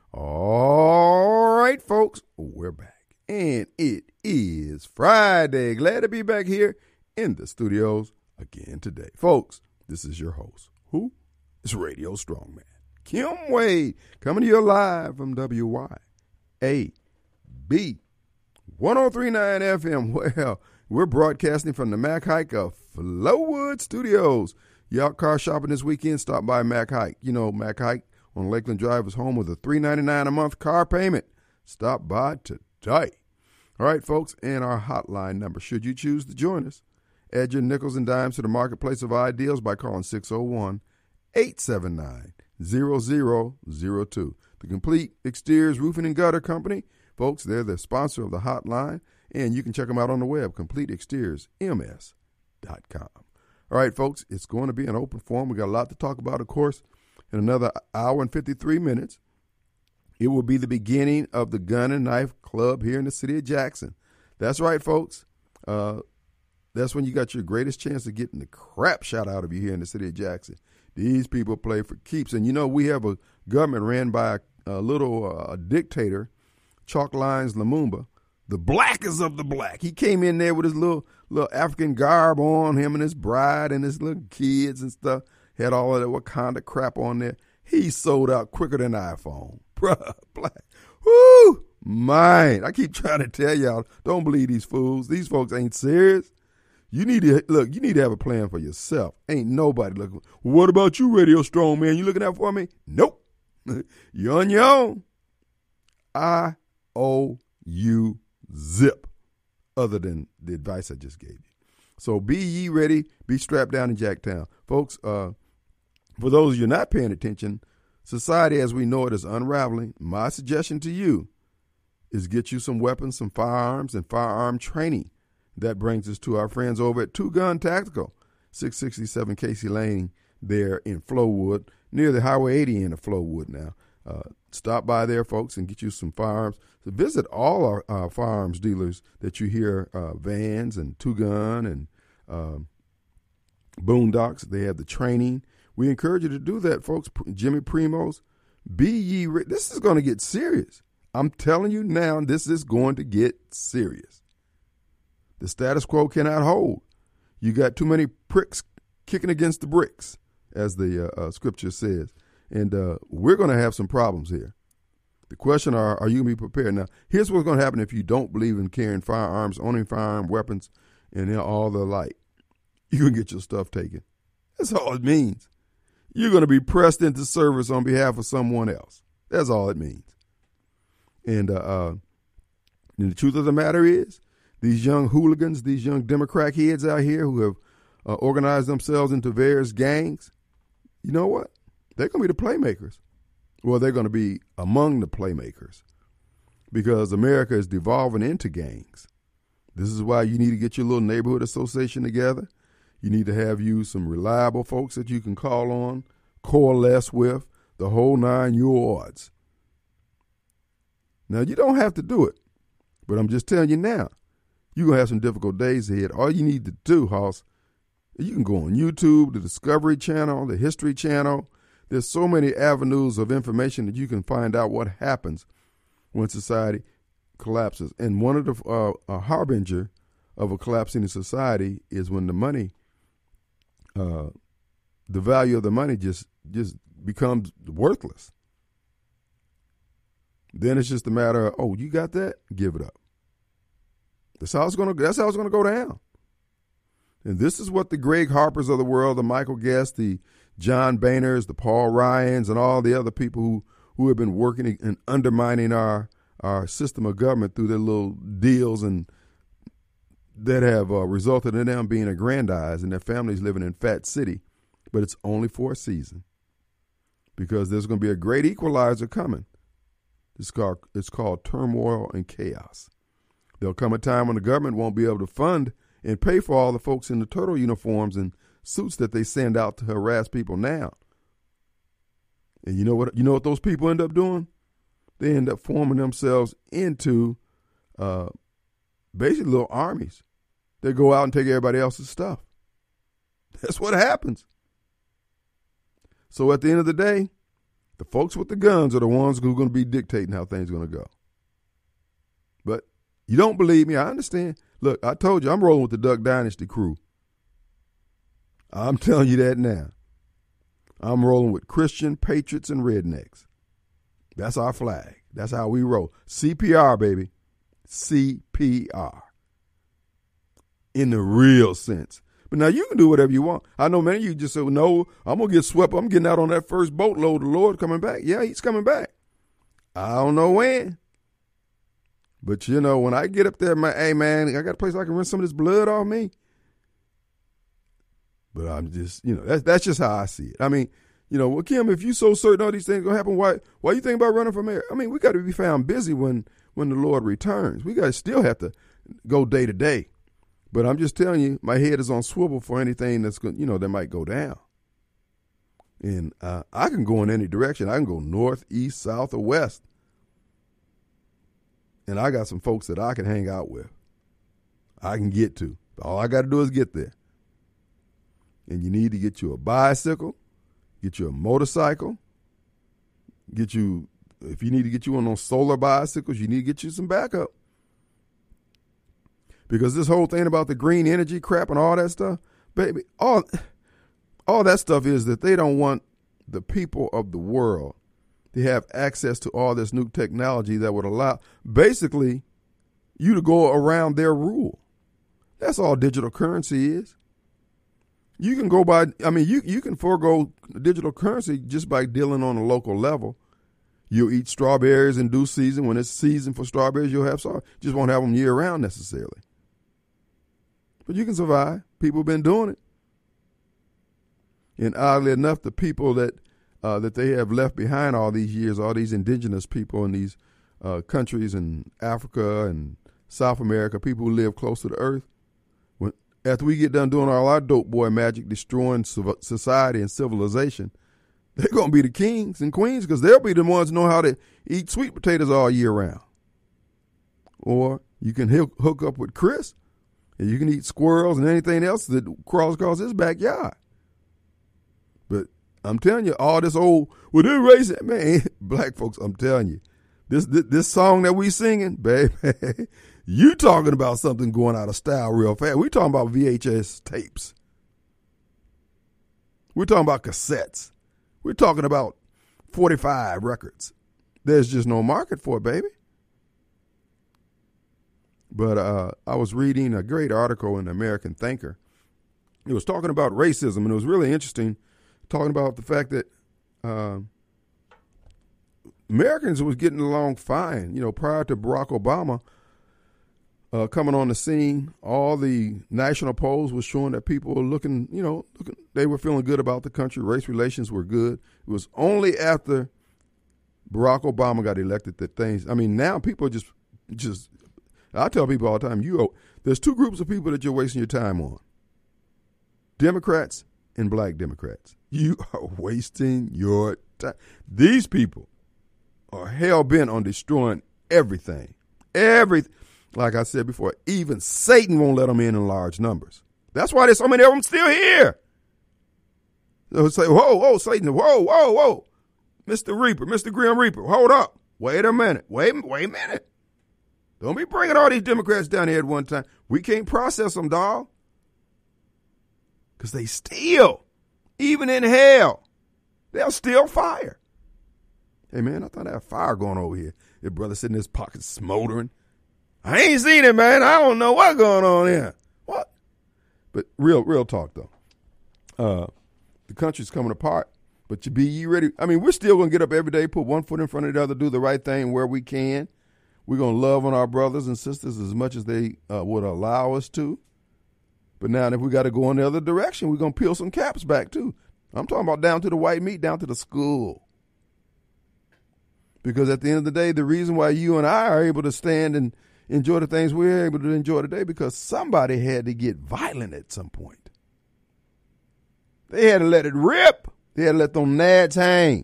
All right, folks, we're back. And it is Friday. Glad to be back here in the studios again today. Folks, this is your host. Who? It's Radio Strongman. Kim Wade, coming to you live from WYAB 1039 FM. Well, we're broadcasting from the Mac Hike of Flowwood Studios. You out car shopping this weekend, stop by Mac Hike. You know, Mac Hike on Lakeland Drive is home with a $3.99 a month car payment. Stop by today. All right, folks, and our hotline number, should you choose to join us, add your nickels and dimes to the marketplace of ideals by calling 601-879-0002. The Complete Exteriors Roofing and Gutter Company, folks, they're the sponsor of the hotline, and you can check them out on the web, CompleteExteriorsMS.com. All right, folks, it's going to be an open forum. We got a lot to talk about, of course. In another hour and 53 minutes, it will be the beginning of the Gun and Knife Club here in the city of Jackson. That's right, folks. That's when you got your greatest chance of getting the crap shot out of you here in the city of Jackson. These people play for keeps. And, you know, we have a government ran by a little dictator, Chalk Lines Lumumba, the blackest of the black. He came in there with his little African garb on, him and his bride and his little kids and stuff. Had all of that Wakanda crap on there. He sold out quicker than iPhone. Bruh, black. Whoo, man. I keep trying to tell y'all, don't believe these fools. These folks ain't serious. You need to have a plan for yourself. Ain't nobody looking. What about you, Radio Strong Man? You looking out for me? Nope. You're on your own. I owe you zip, other than the advice I just gave you. So be ye ready. Be strapped down in Jacktown. Folks, for those of you not paying attention, society as we know it is unraveling. My suggestion to you is get you some weapons, some firearms, and firearm training. That brings us to our friends over at Two Gun Tactical, 667 Casey Lane there in Flowwood, near the Highway 80 end of Flowwood now. Stop by there, folks, and get you some firearms. So visit all our firearms dealers that you hear, Vans and Two Gun and Boondocks. They have the training. We encourage you to do that, folks. Jimmy Primo's, be ye ready. This is going to get serious. I'm telling you now, this is going to get serious. The status quo cannot hold. You got too many pricks kicking against the bricks, as the scripture says. And we're going to have some problems here. The question are you going to be prepared? Now, here's what's going to happen if you don't believe in carrying firearms, owning firearm weapons, and all the like. You can get your stuff taken. That's all it means. You're going to be pressed into service on behalf of someone else. That's all it means. And the truth of the matter is, these young hooligans, these young Democrat heads out here who have organized themselves into various gangs, you know what? They're going to be the playmakers. Well, they're going to be among the playmakers because America is devolving into gangs. This is why you need to get your little neighborhood association together. You need to have you some reliable folks that you can call on, coalesce with, the whole 9 yards. Now, you don't have to do it, but I'm just telling you now, you're going to have some difficult days ahead. All you need to do, Hoss, you can go on YouTube, the Discovery Channel, the History Channel. There's so many avenues of information that you can find out what happens when society collapses. And one of the harbinger of a collapsing society is when the money, the value of the money just becomes worthless. Then it's just a matter of, oh, you got that? Give it up. That's how it's going to go down. And this is what the Greg Harpers of the world, the Michael Guest, the John Boehners, the Paul Ryans, and all the other people who have been working and undermining our system of government through their little deals and that have resulted in them being aggrandized and their families living in Fat City. But it's only for a season because there's going to be a great equalizer coming. It's called turmoil and chaos. There'll come a time when the government won't be able to fund and pay for all the folks in the turtle uniforms and suits that they send out to harass people now. And you know what those people end up doing? They end up forming themselves into basically little armies. They go out and take everybody else's stuff. That's what happens. So at the end of the day, The folks with the guns are the ones who are going to be dictating how things are going to go. But you don't believe me, I understand. Look, I told you I'm rolling with the Duck Dynasty crew. I'm telling you that now. I'm rolling with Christian patriots and rednecks. That's our flag. That's how we roll. CPR, baby. CPR. In the real sense. But now you can do whatever you want. I know many of you just say, no, I'm going to get swept. I'm getting out on that first boatload. The Lord coming back. Yeah, he's coming back. I don't know when. But, you know, when I get up there, hey, man, I got a place I can rinse some of this blood off me. But I'm just, you know, that's just how I see it. I mean, you know, well, Kim, if you so certain all these things going to happen, why you think about running for mayor? I mean, we got to be found busy when the Lord returns. We got to still have to go day to day. But I'm just telling you, my head is on swivel for anything that's going, you know, that might go down. And I can go in any direction. I can go north, east, south, or west. And I got some folks that I can hang out with. I can get to. All I got to do is get there. And you need to get you a bicycle, get you a motorcycle, if you need to get you on those solar bicycles, you need to get you some backup. Because this whole thing about the green energy crap and all that stuff, baby, all that stuff is that they don't want the people of the world to have access to all this new technology that would allow basically you to go around their rule. That's all digital currency is. You can go by, I mean, you can forego digital currency just by dealing on a local level. You'll eat strawberries in due season. When it's season for strawberries, you'll have strawberries. Just won't have them year round necessarily. But you can survive. People have been doing it. And oddly enough, the people that they have left behind all these years, all these indigenous people in these countries in Africa and South America, people who live close to the earth, after we get done doing all our dope boy magic, destroying society and civilization, they're going to be the kings and queens because they'll be the ones who know how to eat sweet potatoes all year round. Or you can hook up with Chris, and you can eat squirrels and anything else that crawls across his backyard. But I'm telling you, all this old, well, they're racist, man, black folks, I'm telling you, this song that we singing, baby, you talking about something going out of style real fast. We talking about VHS tapes. We're talking about cassettes. We're talking about 45 records. There's just no market for it, baby. But I was reading a great article in the American Thinker. It was talking about racism, and it was really interesting, talking about the fact that Americans was getting along fine. You know, prior to Barack Obama coming on the scene, all the national polls was showing that people were looking, they were feeling good about the country. Race relations were good. It was only after Barack Obama got elected that things, I mean, now people are just, I tell people all the time, there's two groups of people that you're wasting your time on. Democrats and black Democrats. You are wasting your time. These people are hell-bent on destroying everything. Like I said before, even Satan won't let them in large numbers. That's why there's so many of them still here. They'll say, whoa, Satan, whoa. Mr. Reaper, Mr. Grim Reaper, hold up. Wait a minute. Wait a minute. Don't be bringing all these Democrats down here at one time. We can't process them, dawg. Because they steal. Even in hell, they'll steal fire. Hey, man, I thought I had fire going over here. Your brother sitting in his pocket smoldering. I ain't seen it, man. I don't know what's going on here. What? But real talk, though. The country's coming apart, but you ready? I mean, we're still going to get up every day, put one foot in front of the other, do the right thing where we can. We're going to love on our brothers and sisters as much as they would allow us to. But now if we got to go in the other direction, we're going to peel some caps back, too. I'm talking about down to the white meat, down to the school. Because at the end of the day, the reason why you and I are able to stand and enjoy the things we're able to enjoy today, because somebody had to get violent at some point. They had to let it rip. They had to let them nads hang.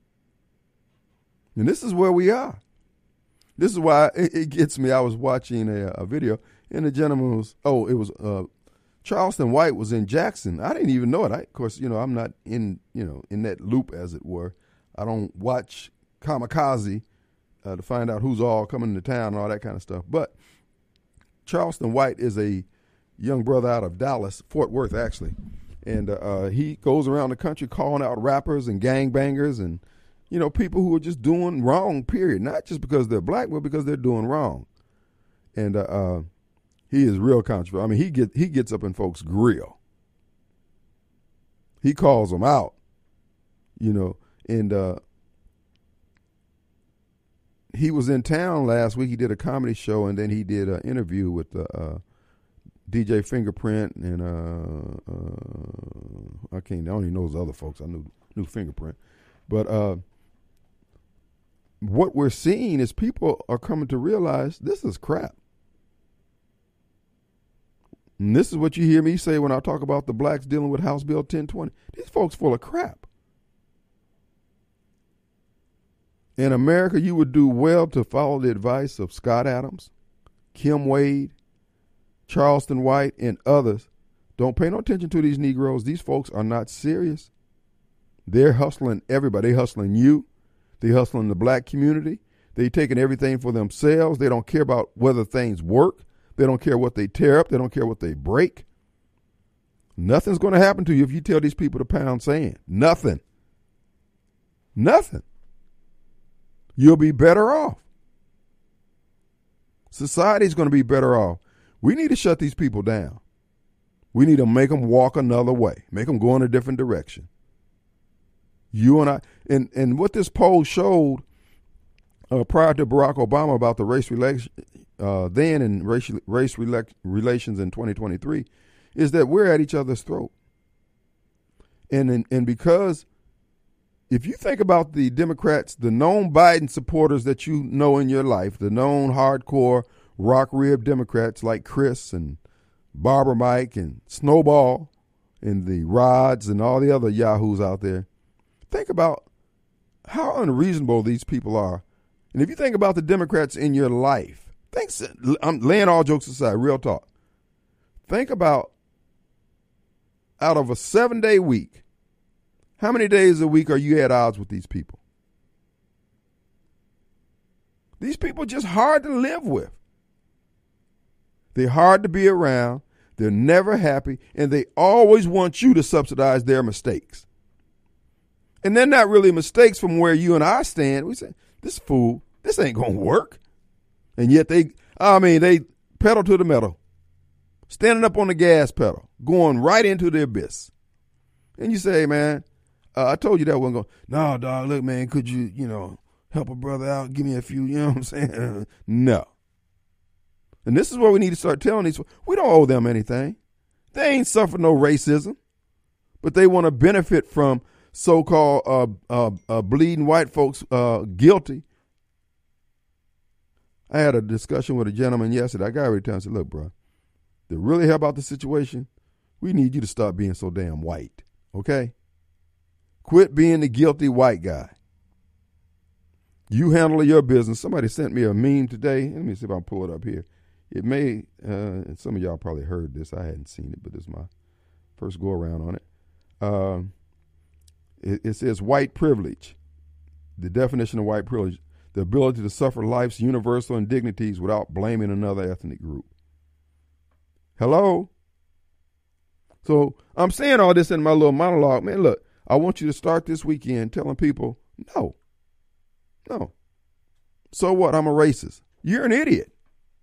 And this is where we are. This is why it gets me. I was watching a video, and the gentleman was, Charleston White was in Jackson. I didn't even know it. Of course, I'm not in that loop, as it were. I don't watch Kamikaze to find out who's all coming to town and all that kind of stuff. But Charleston White is a young brother out of Dallas, Fort Worth, actually. And he goes around the country calling out rappers and gangbangers and, people who are just doing wrong, period. Not just because they're black, but because they're doing wrong. And he is real controversial. I mean, he gets up in folks' grill. He calls them out, and he was in town last week. He did a comedy show, and then he did an interview with DJ Fingerprint and I don't even know those other folks. I knew Fingerprint, but what we're seeing is people are coming to realize this is crap. And this is what you hear me say when I talk about the blacks dealing with House Bill 1020. These folks full of crap. In America, you would do well to follow the advice of Scott Adams, Kim Wade, Charleston White, and others. Don't pay no attention to these Negroes. These folks are not serious. They're hustling everybody. They're hustling you. They're hustling the black community. They're taking everything for themselves. They don't care about whether things work. They don't care what they tear up. They don't care what they break. Nothing's going to happen to you if you tell these people to pound sand. Nothing. Nothing. You'll be better off. Society's going to be better off. We need to shut these people down. We need to make them walk another way. Make them go in a different direction. You and I, and what this poll showed prior to Barack Obama about the race relations in 2023 is that we're at each other's throat. And because if you think about the Democrats, the known Biden supporters that you know in your life, the known hardcore rock rib Democrats like Chris and Barbara Mike and Snowball and the Rods and all the other yahoos out there, think about how unreasonable these people are. And if you think about the Democrats in your life, I'm laying all jokes aside, real talk. Think about out of a 7-day week, how many days a week are you at odds with these people? These people are just hard to live with. They're hard to be around. They're never happy. And they always want you to subsidize their mistakes. And they're not really mistakes from where you and I stand. We say, this fool, this ain't going to work. And yet they pedal to the metal, standing up on the gas pedal, going right into the abyss. And you say, man, I told you that wasn't going. No, dog, look, man, could you, help a brother out? Give me a few, you know what I'm saying? No. And this is what we need to start telling these. We don't owe them anything. They ain't suffered no racism, but they want to benefit from so-called bleeding white folks guilty. I had a discussion with a gentleman yesterday. I got every time and said, look, bro, to really help out the situation, we need you to stop being so damn white, okay? Quit being the guilty white guy. You handle your business. Somebody sent me a meme today. Let me see if I can pull it up here. It may, some of y'all probably heard this. I hadn't seen it, but this is my first go around on it. It says white privilege. The definition of white privilege: the ability to suffer life's universal indignities without blaming another ethnic group. Hello? So I'm saying all this in my little monologue. Man, look, I want you to start this weekend telling people, no. So what? I'm a racist. You're an idiot.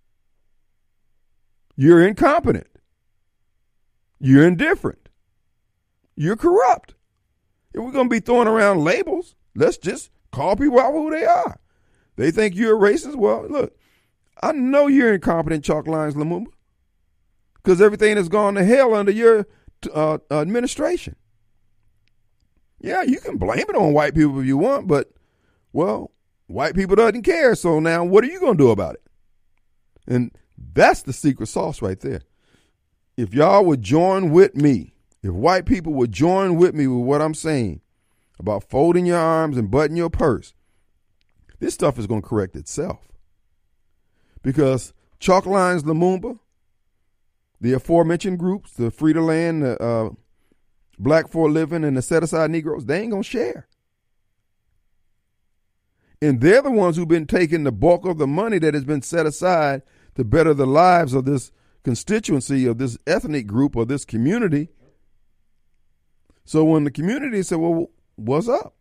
You're incompetent. You're indifferent. You're corrupt. If we're going to be throwing around labels, let's just call people out for who they are. They think you're a racist? Well, look, I know you're incompetent, Chalk Lines Lumumba, because everything has gone to hell under your administration. Yeah, you can blame it on white people if you want, but, well, white people doesn't care, so now what are you going to do about it? And that's the secret sauce right there. If y'all would join with me, if white people would join with me with what I'm saying about folding your arms and buttoning your purse, this stuff is going to correct itself. Because Chalk Lines Lumumba, the aforementioned groups, the Free to Land, the Black for a Living, and the Set Aside Negroes, they ain't going to share. And they're the ones who've been taking the bulk of the money that has been set aside to better the lives of this constituency, of this ethnic group, or this community. So when the community said, well, what's up?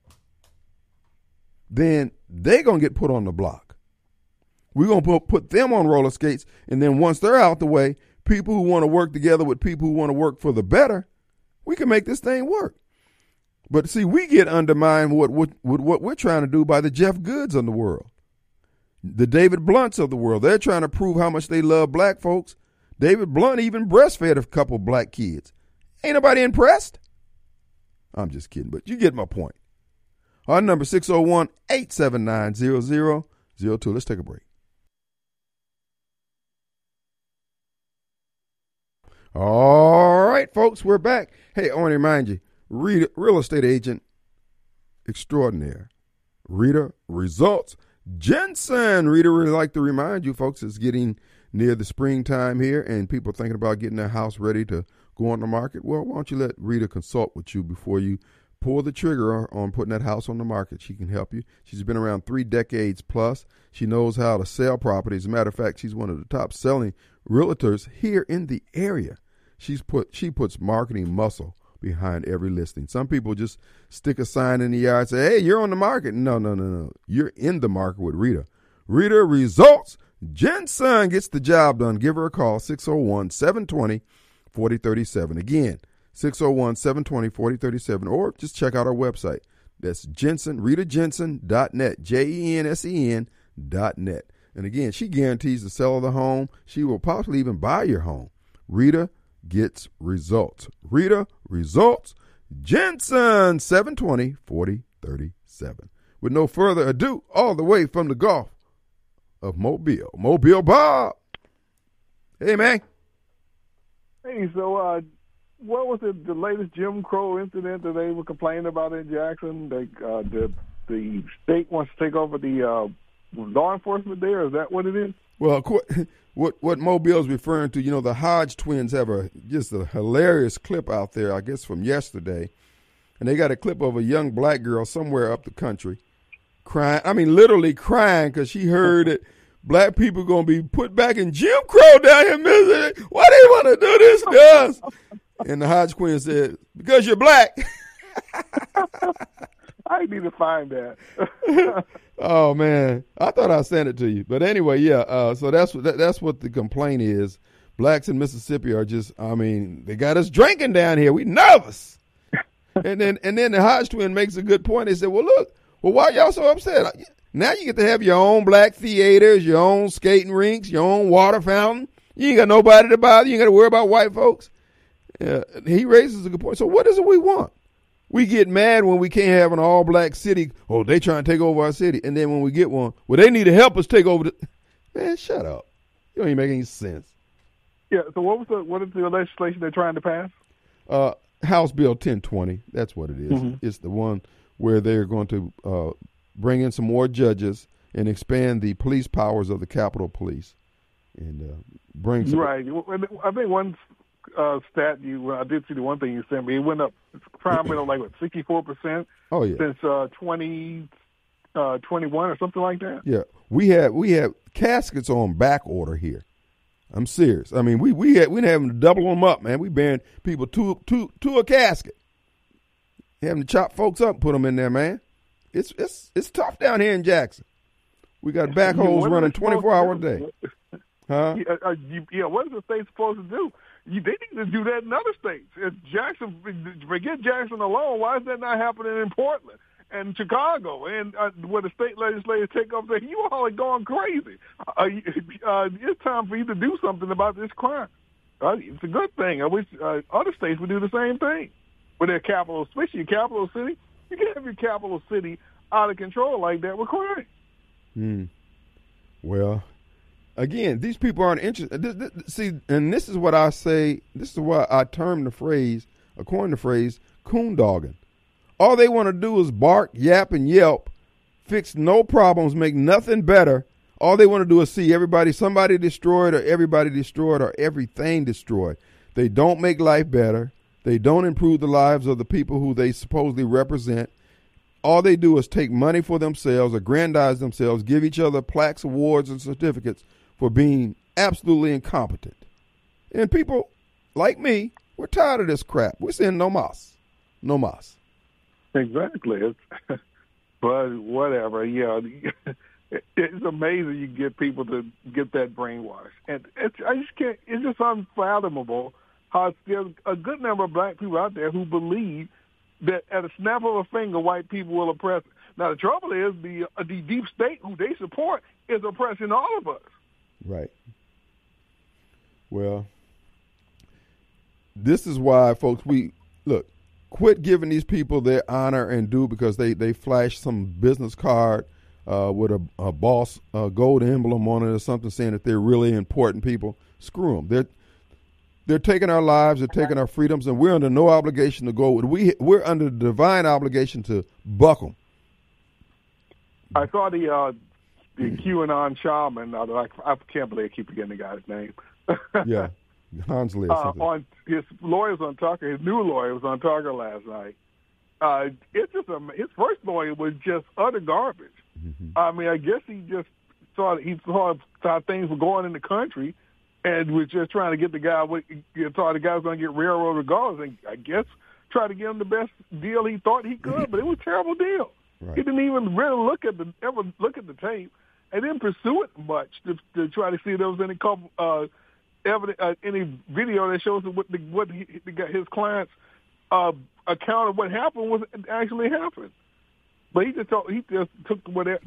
Then they're going to get put on the block. We're going to put them on roller skates. And then once they're out the way, people who want to work together with people who want to work for the better, we can make this thing work. But see, we get undermined what we're trying to do by the Jeff Goods of the world, the David Blunts of the world. They're trying to prove how much they love black folks. David Blunt even breastfed a couple black kids. Ain't nobody impressed? I'm just kidding, but you get my point. Our number 601-879-0002. Let's take a break. All right, folks, we're back. Hey, I want to remind you, Rita, real estate agent extraordinaire, Rita Results Jensen. Rita really like to remind you, folks, it's getting near the springtime here and people are thinking about getting their house ready to go on the market. Well, why don't you let Rita consult with you before you pull the trigger on putting that house on the market. She can help you. She's been around 3 decades plus. She knows how to sell properties. As a matter of fact, she's one of the top selling realtors here in the area. She puts marketing muscle behind every listing. Some people just stick a sign in the yard and say, hey, you're on the market. No. You're in the market with Rita. Rita Results Jensen gets the job done. Give her a call, 601-720-4037. Again, 601-720-4037, or just check out our website. That's Jensen, RitaJensen.net, JENSEN.net. And again, she guarantees the sale of the home. She will possibly even buy your home. Rita gets results. Rita Results Jensen, 720-4037. With no further ado, all the way from the Gulf of Mobile, Mobile Bob. Hey, man. Hey, so what was the latest Jim Crow incident that they were complaining about in Jackson? The state wants to take over the law enforcement there. Is that what it is? Well, what Mobile is referring to, the Hodge twins have just a hilarious clip out there, I guess, from yesterday. And they got a clip of a young black girl somewhere up the country crying. I mean, literally crying because she heard that black people going to be put back in Jim Crow down here in Mississippi. Why they want to do this to us? And the Hodge Queen said, because you're black. I need to find that. Oh, man. I thought I'd send it to you. But anyway, yeah, so that's what the complaint is. Blacks in Mississippi are just, they got us drinking down here. We nervous. and then the Hodge twin makes a good point. They said, well, look, why y'all so upset? Now you get to have your own black theaters, your own skating rinks, your own water fountain. You ain't got nobody to bother. You ain't got to worry about white folks. He raises a good point. So what is it we want? We get mad when we can't have an all-black city. Oh, they trying to take over our city. And then when we get one, well, they need to help us take over Man, shut up. You don't even make any sense. Yeah, so what is the legislation they're trying to pass? House Bill 1020. That's what it is. Mm-hmm. It's the one where they're going to bring in some more judges and expand the police powers of the Capitol Police. And bring some... Right. I think one stat I did see the one thing you sent me. It went up, crime went up like 64%. Oh yeah. Since 2021 or something like that. Yeah, we have caskets on back order here. I'm serious. I mean, we having to double them up, man. We burying people to a casket, having to chop folks up, and put them in there, man. It's tough down here in Jackson. We got backhoes running 24 hours a day. Huh? What is the state supposed to do? They need to do that in other states. If Jackson, forget Jackson alone, why is that not happening in Portland and Chicago and where the state legislators take up saying, you all are going crazy. It's time for you to do something about this crime. It's a good thing. I wish other states would do the same thing with their capital, especially your capital city. You can't have your capital city out of control like that with crime. Well, again, these people aren't interested. See, and this is what I say. This is why I term the phrase, coin the phrase, coondogging. All they want to do is bark, yap, and yelp, fix no problems, make nothing better. All they want to do is see somebody destroyed or everybody destroyed or everything destroyed. They don't make life better. They don't improve the lives of the people who they supposedly represent. all they do is take money for themselves, aggrandize themselves, give each other plaques, awards, and certificates for being absolutely incompetent. And people like me, we're tired of this crap. We're saying no mas. No mas. Exactly. But whatever, yeah. It's amazing you get people to get that brainwashed. And I just can't, it's just unfathomable how there's a good number of black people out there who believe that at a snap of a finger, white people will oppress. Now, the trouble is the deep state who they support is oppressing all of us. Right. Well, this is why, folks, quit giving these people their honor and due because they flash some business card with a boss gold emblem on it or something saying that they're really important people. Screw them. They're taking our lives, they're taking our freedoms, and we're under no obligation to go. We're under the divine obligation to buck them. I saw the QAnon shaman. I can't believe I keep forgetting the guy's name. Yeah, Hansley or something. On his lawyers on Tucker, his new lawyer was on Tucker last night. It's just his first lawyer was just utter garbage. Mm-hmm. I mean, I guess he saw how things were going in the country, and was just trying to get the guy. Thought the guy was going to get railroad regardless, and I guess try to give him the best deal he thought he could. But it was a terrible deal. Right. He didn't even really ever look at the tape, and didn't pursue it much to try to see if there was any evidence, any video that shows what his client's account of what happened was actually happened. But he just took whatever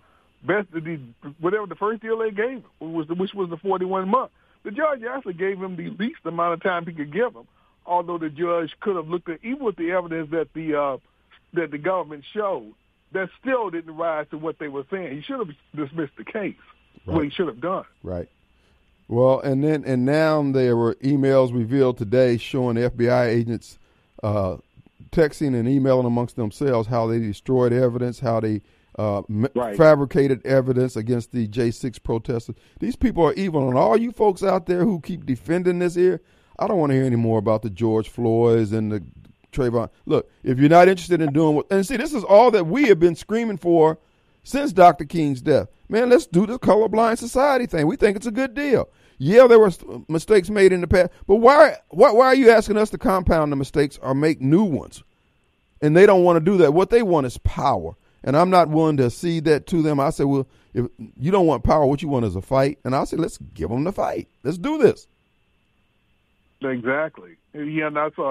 the first deal they gave him, which was the 41 months. The judge actually gave him the least amount of time he could give him, although the judge could have looked at, even with the evidence that the government showed, that still didn't rise to what they were saying. He should have dismissed the case. Right. What he should have done. Right. Well, and now there were emails revealed today showing FBI agents texting and emailing amongst themselves how they destroyed evidence, how they fabricated evidence against the J6 protesters. These people are evil, and all you folks out there who keep defending this here, I don't want to hear any more about the George Floyds and the Trayvon. Look, if you're not interested in doing and see, this is all that we have been screaming for since Dr. King's death. Man, let's do the colorblind society thing. We think it's a good deal. Yeah, there were mistakes made in the past, but why are you asking us to compound the mistakes or make new ones? And they don't want to do that. What they want is power, and I'm not willing to cede that to them. I said, well, if you don't want power, what you want is a fight. And I said, let's give them the fight. Let's do this. Exactly. Yeah, and I saw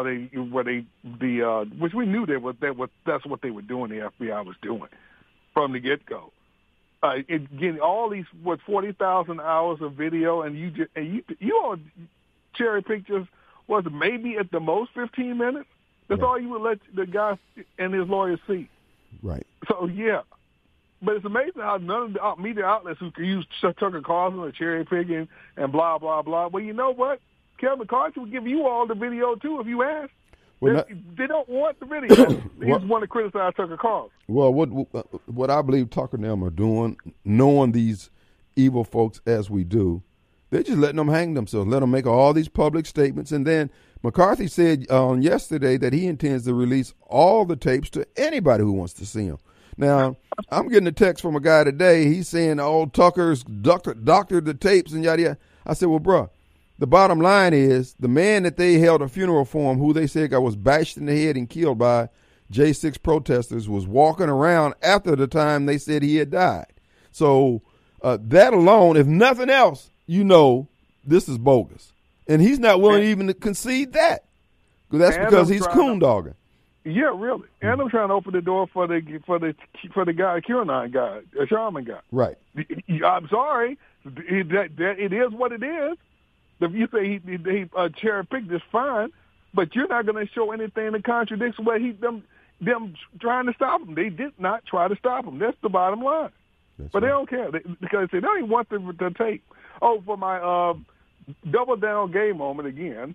which we knew that's what they were doing. The FBI was doing from the get-go. Getting all these 40,000 hours of video, and you all cherry pick just was maybe at the most 15 minutes. That's all you would let the guy and his lawyers see. Right. So yeah, but it's amazing how none of the media outlets who can use Tucker Carlson or cherry picking and blah blah blah. Well, you know what? Kevin McCarthy will give you all the video too if you ask. They don't want the video. They just want to criticize Tucker Carlson. Well, what I believe Tucker and them are doing, knowing these evil folks as we do, they're just letting them hang themselves, let them make all these public statements. And then McCarthy said on yesterday that he intends to release all the tapes to anybody who wants to see them. Now, I'm getting a text from a guy today. He's saying, Tucker's doctored the tapes and yada yada. I said, well, bruh, the bottom line is the man that they held a funeral for him, who they said was bashed in the head and killed by J6 protesters, was walking around after the time they said he had died. So that alone, if nothing else, this is bogus. And he's not willing even to concede that. That's because he's coondogging. Yeah, really. And I'm trying to open the door for the guy, QAnon guy, a shaman guy. Right. I'm sorry. It is what it is. If you say he cherry picked is fine, but you're not going to show anything that contradicts what them trying to stop him. They did not try to stop him. That's the bottom line. But they don't care because they don't even want the tape. Oh, for my double down gay moment again.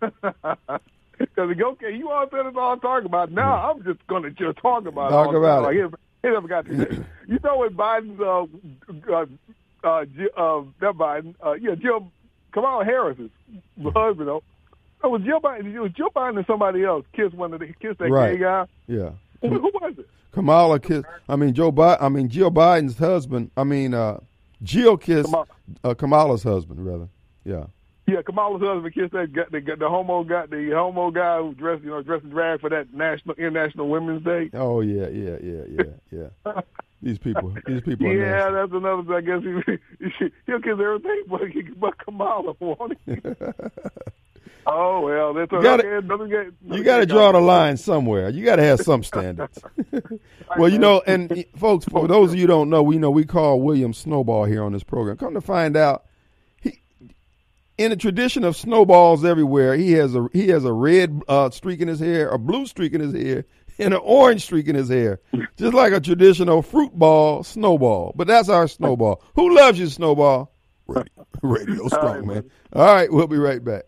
Because okay, you all said it's all I'm talking about. Now I'm just going to just talk about it. He never got to say. You know what Biden's Jill Kamala Harris's husband. It was Joe Biden. It was Joe Biden and somebody else kissed that right. gay guy. Yeah. Who was it? Kamala kissed. Joe Biden. Jill Biden's husband. Jill kissed Kamala's husband, rather. Yeah. Yeah, Kamala's husband kissed the homo guy who dressed in drag for that International Women's Day. Oh yeah. These people. Yeah, that's another. I guess he'll kiss everything, but Kamala won't he? Oh well, that's you got to draw the line somewhere. You got to have some standards. Well, and folks, for those of you who don't know, we call William Snowball here on this program. Come to find out, in the tradition of snowballs everywhere, he has a red streak in his hair, a blue streak in his hair, and an orange streak in his hair, just like a traditional fruit ball snowball. But that's our snowball. Who loves you, Snowball? Radio strong, man. All right, we'll be right back.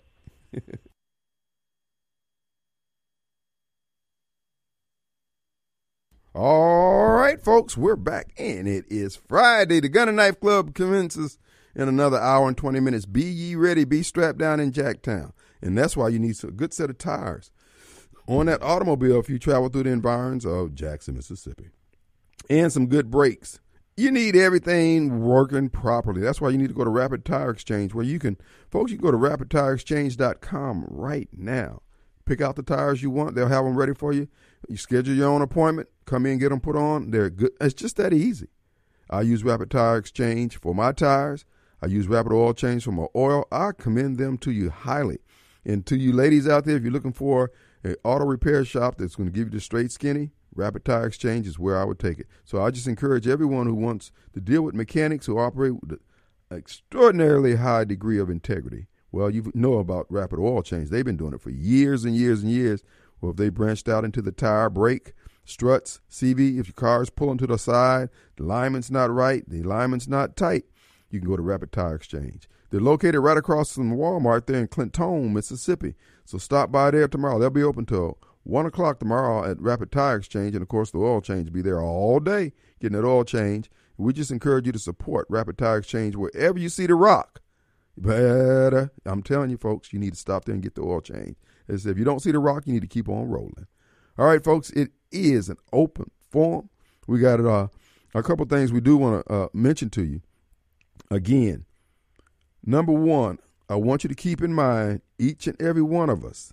All right, folks, we're back, and it is Friday. The Gun and Knife Club commences in another hour and 20 minutes. Be ye ready, be strapped down in Jacktown. And that's why you need a good set of tires on that automobile if you travel through the environs of Jackson, Mississippi. And some good brakes. You need everything working properly. That's why you need to go to Rapid Tire Exchange, where you can go to rapidtireexchange.com right now. Pick out the tires you want. They'll have them ready for you. You schedule your own appointment. Come in and get them put on. They're good. It's just that easy. I use Rapid Tire Exchange for my tires. I use Rapid Oil Change for my oil. I commend them to you highly. And to you ladies out there, if you're looking for an auto repair shop that's going to give you the straight skinny, Rapid Tire Exchange is where I would take it. So I just encourage everyone who wants to deal with mechanics who operate with an extraordinarily high degree of integrity. Well, you know about Rapid Oil Change. They've been doing it for years and years and years. Well, if they branched out into the tire, brake, struts, CV, if your car is pulling to the side, the alignment's not right, the alignment's not tight, you can go to Rapid Tire Exchange. They're located right across from Walmart there in Clinton, Mississippi. So stop by there tomorrow. They'll be open till 1 o'clock tomorrow at Rapid Tire Exchange. And, of course, the oil change will be there all day getting that oil change. We just encourage you to support Rapid Tire Exchange wherever you see the rock. But I'm telling you, folks, you need to stop there and get the oil change. As if you don't see the rock, you need to keep on rolling. All right, folks, it is an open forum. We got a couple things we do want to mention to you. Again, number one, I want you to keep in mind, each and every one of us,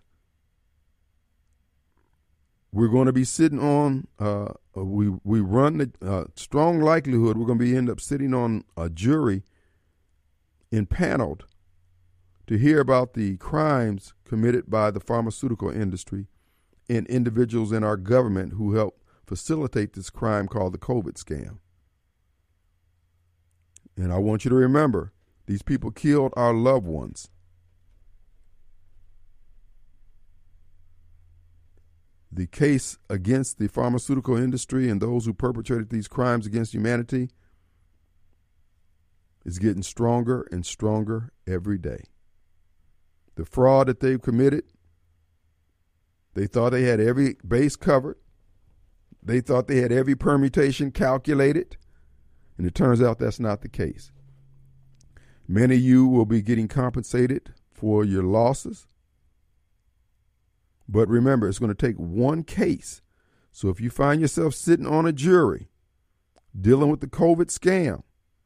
we're going to be sitting on, we run the strong likelihood we're going to be end up sitting on a jury impaneled to hear about the crimes committed by the pharmaceutical industry and individuals in our government who helped facilitate this crime called the COVID scam. And I want you to remember, these people killed our loved ones. The case against the pharmaceutical industry and those who perpetrated these crimes against humanity is getting stronger and stronger every day. The fraud that they've committed, they thought they had every base covered. They thought they had every permutation calculated. And it turns out that's not the case. Many of you will be getting compensated for your losses. But remember, it's going to take one case. So if you find yourself sitting on a jury dealing with the COVID scam,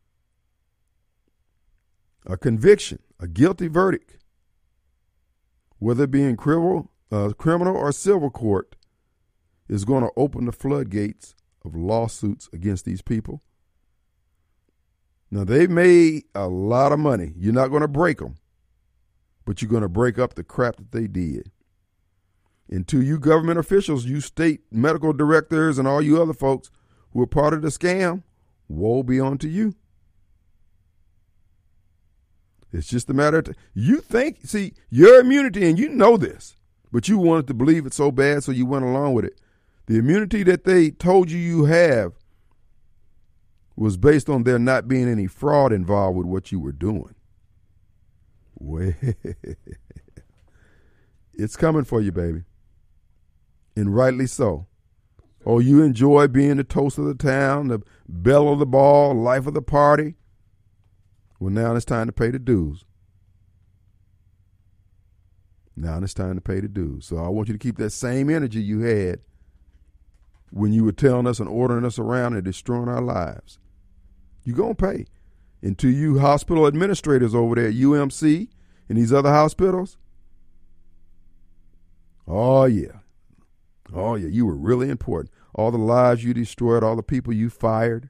a conviction, a guilty verdict, whether it be in criminal or civil court, is going to open the floodgates of lawsuits against these people. Now, they've made a lot of money. You're not going to break them, but you're going to break up the crap that they did. And to you government officials, you state medical directors, and all you other folks who are part of the scam, woe be unto you. It's just a matter of you think, see, your immunity, and you know this, but you wanted to believe it so bad, so you went along with it. The immunity that they told you have was based on there not being any fraud involved with what you were doing. Well, it's coming for you, baby. And rightly so. Oh, you enjoy being the toast of the town, the belle of the ball, life of the party. Well, now it's time to pay the dues. Now it's time to pay the dues. So I want you to keep that same energy you had when you were telling us and ordering us around and destroying our lives. You're going to pay. And to you hospital administrators over there at UMC and these other hospitals, oh, yeah. Oh, yeah, you were really important. All the lives you destroyed, all the people you fired.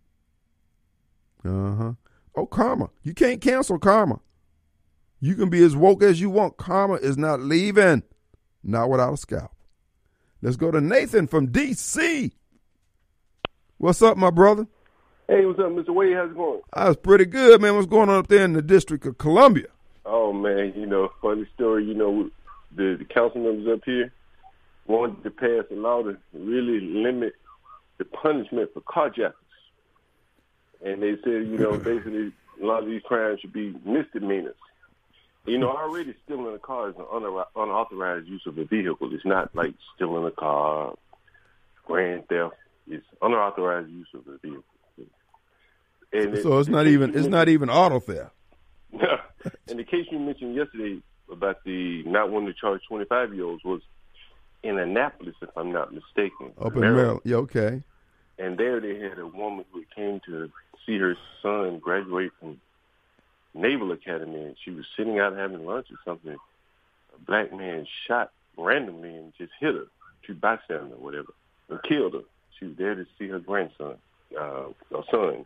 Uh-huh. Oh, karma. You can't cancel karma. You can be as woke as you want. Karma is not leaving. Not without a scalp. Let's go to Nathan from D.C. What's up, my brother? Hey, what's up, Mr. Wade? How's it going? I was pretty good, man. What's going on up there in the District of Columbia? Oh, man, funny story. The council members up here wanted to pass a law to really limit the punishment for carjackers. And they said, basically a lot of these crimes should be misdemeanors. Already stealing a car is an unauthorized use of a vehicle. It's not like stealing a car, grand theft. It's unauthorized use of a vehicle. And so it's not even auto theft. And the case you mentioned yesterday about the not wanting to charge 25-year-olds was in Annapolis, if I'm not mistaken. Up in Maryland. Yeah, okay. And there they had a woman who came to see her son graduate from Naval Academy, and she was sitting out having lunch or something. A black man shot randomly and just hit her, two bystanders or whatever, and killed her. She was there to see her grandson, or son.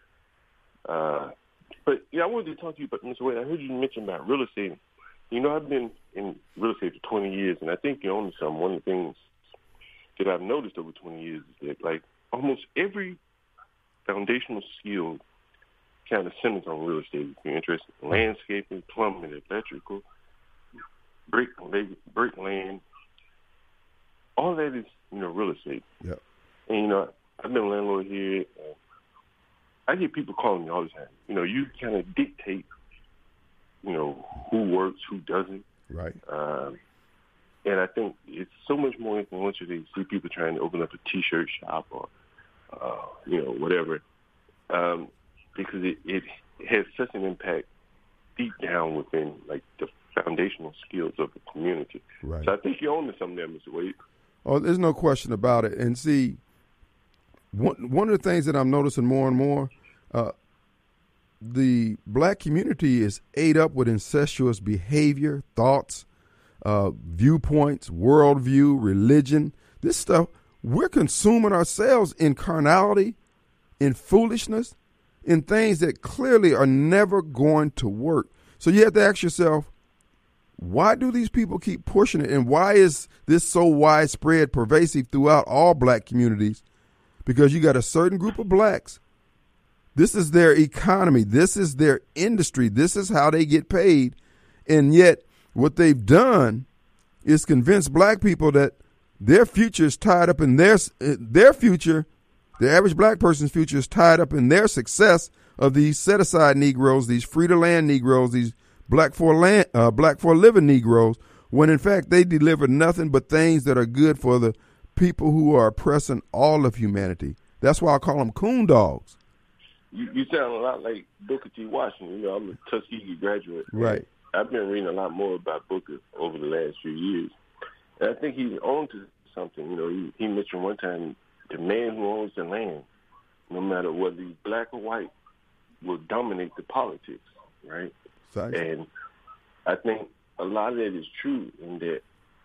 But yeah, I wanted to talk to you about, Mr. Wade, I heard you mention about real estate. I've been in real estate for 20 years, and I think you're onto something. One of the things that I've noticed over 20 years is that, like, almost every foundational skill kind of centers on real estate. If you're interested in landscaping, plumbing, electrical, brick land, all that is, real estate. Yeah. And, I've been a landlord here. I get people calling me all the time. You kind of dictate, who works, who doesn't. Right. And I think it's so much more influential to see people trying to open up a T-shirt shop or, whatever, because it has such an impact deep down within, like, the foundational skills of the community. Right. So I think you're on to something there, Mr. Wade. Oh, there's no question about it. And see, one of the things that I'm noticing more and more, the black community is ate up with incestuous behavior, thoughts, viewpoints, worldview, religion. This stuff, we're consuming ourselves in carnality, in foolishness, in things that clearly are never going to work. So you have to ask yourself, why do these people keep pushing it? And why is this so widespread, pervasive throughout all black communities? Because you got a certain group of blacks. This is their economy. This is their industry. This is how they get paid. And yet what they've done is convince black people that their future is tied up in their future. The average black person's future is tied up in their success of these set-aside Negroes, these free-to-land Negroes, these black for living Negroes, when in fact they deliver nothing but things that are good for the people who are oppressing all of humanity. That's why I call them coon dogs. You sound a lot like Booker T. Washington. I'm a Tuskegee graduate. Right. I've been reading a lot more about Booker over the last few years. And I think he's on to something. He mentioned one time the man who owns the land, no matter whether he's black or white, will dominate the politics, right? Exactly. And I think a lot of that is true in that,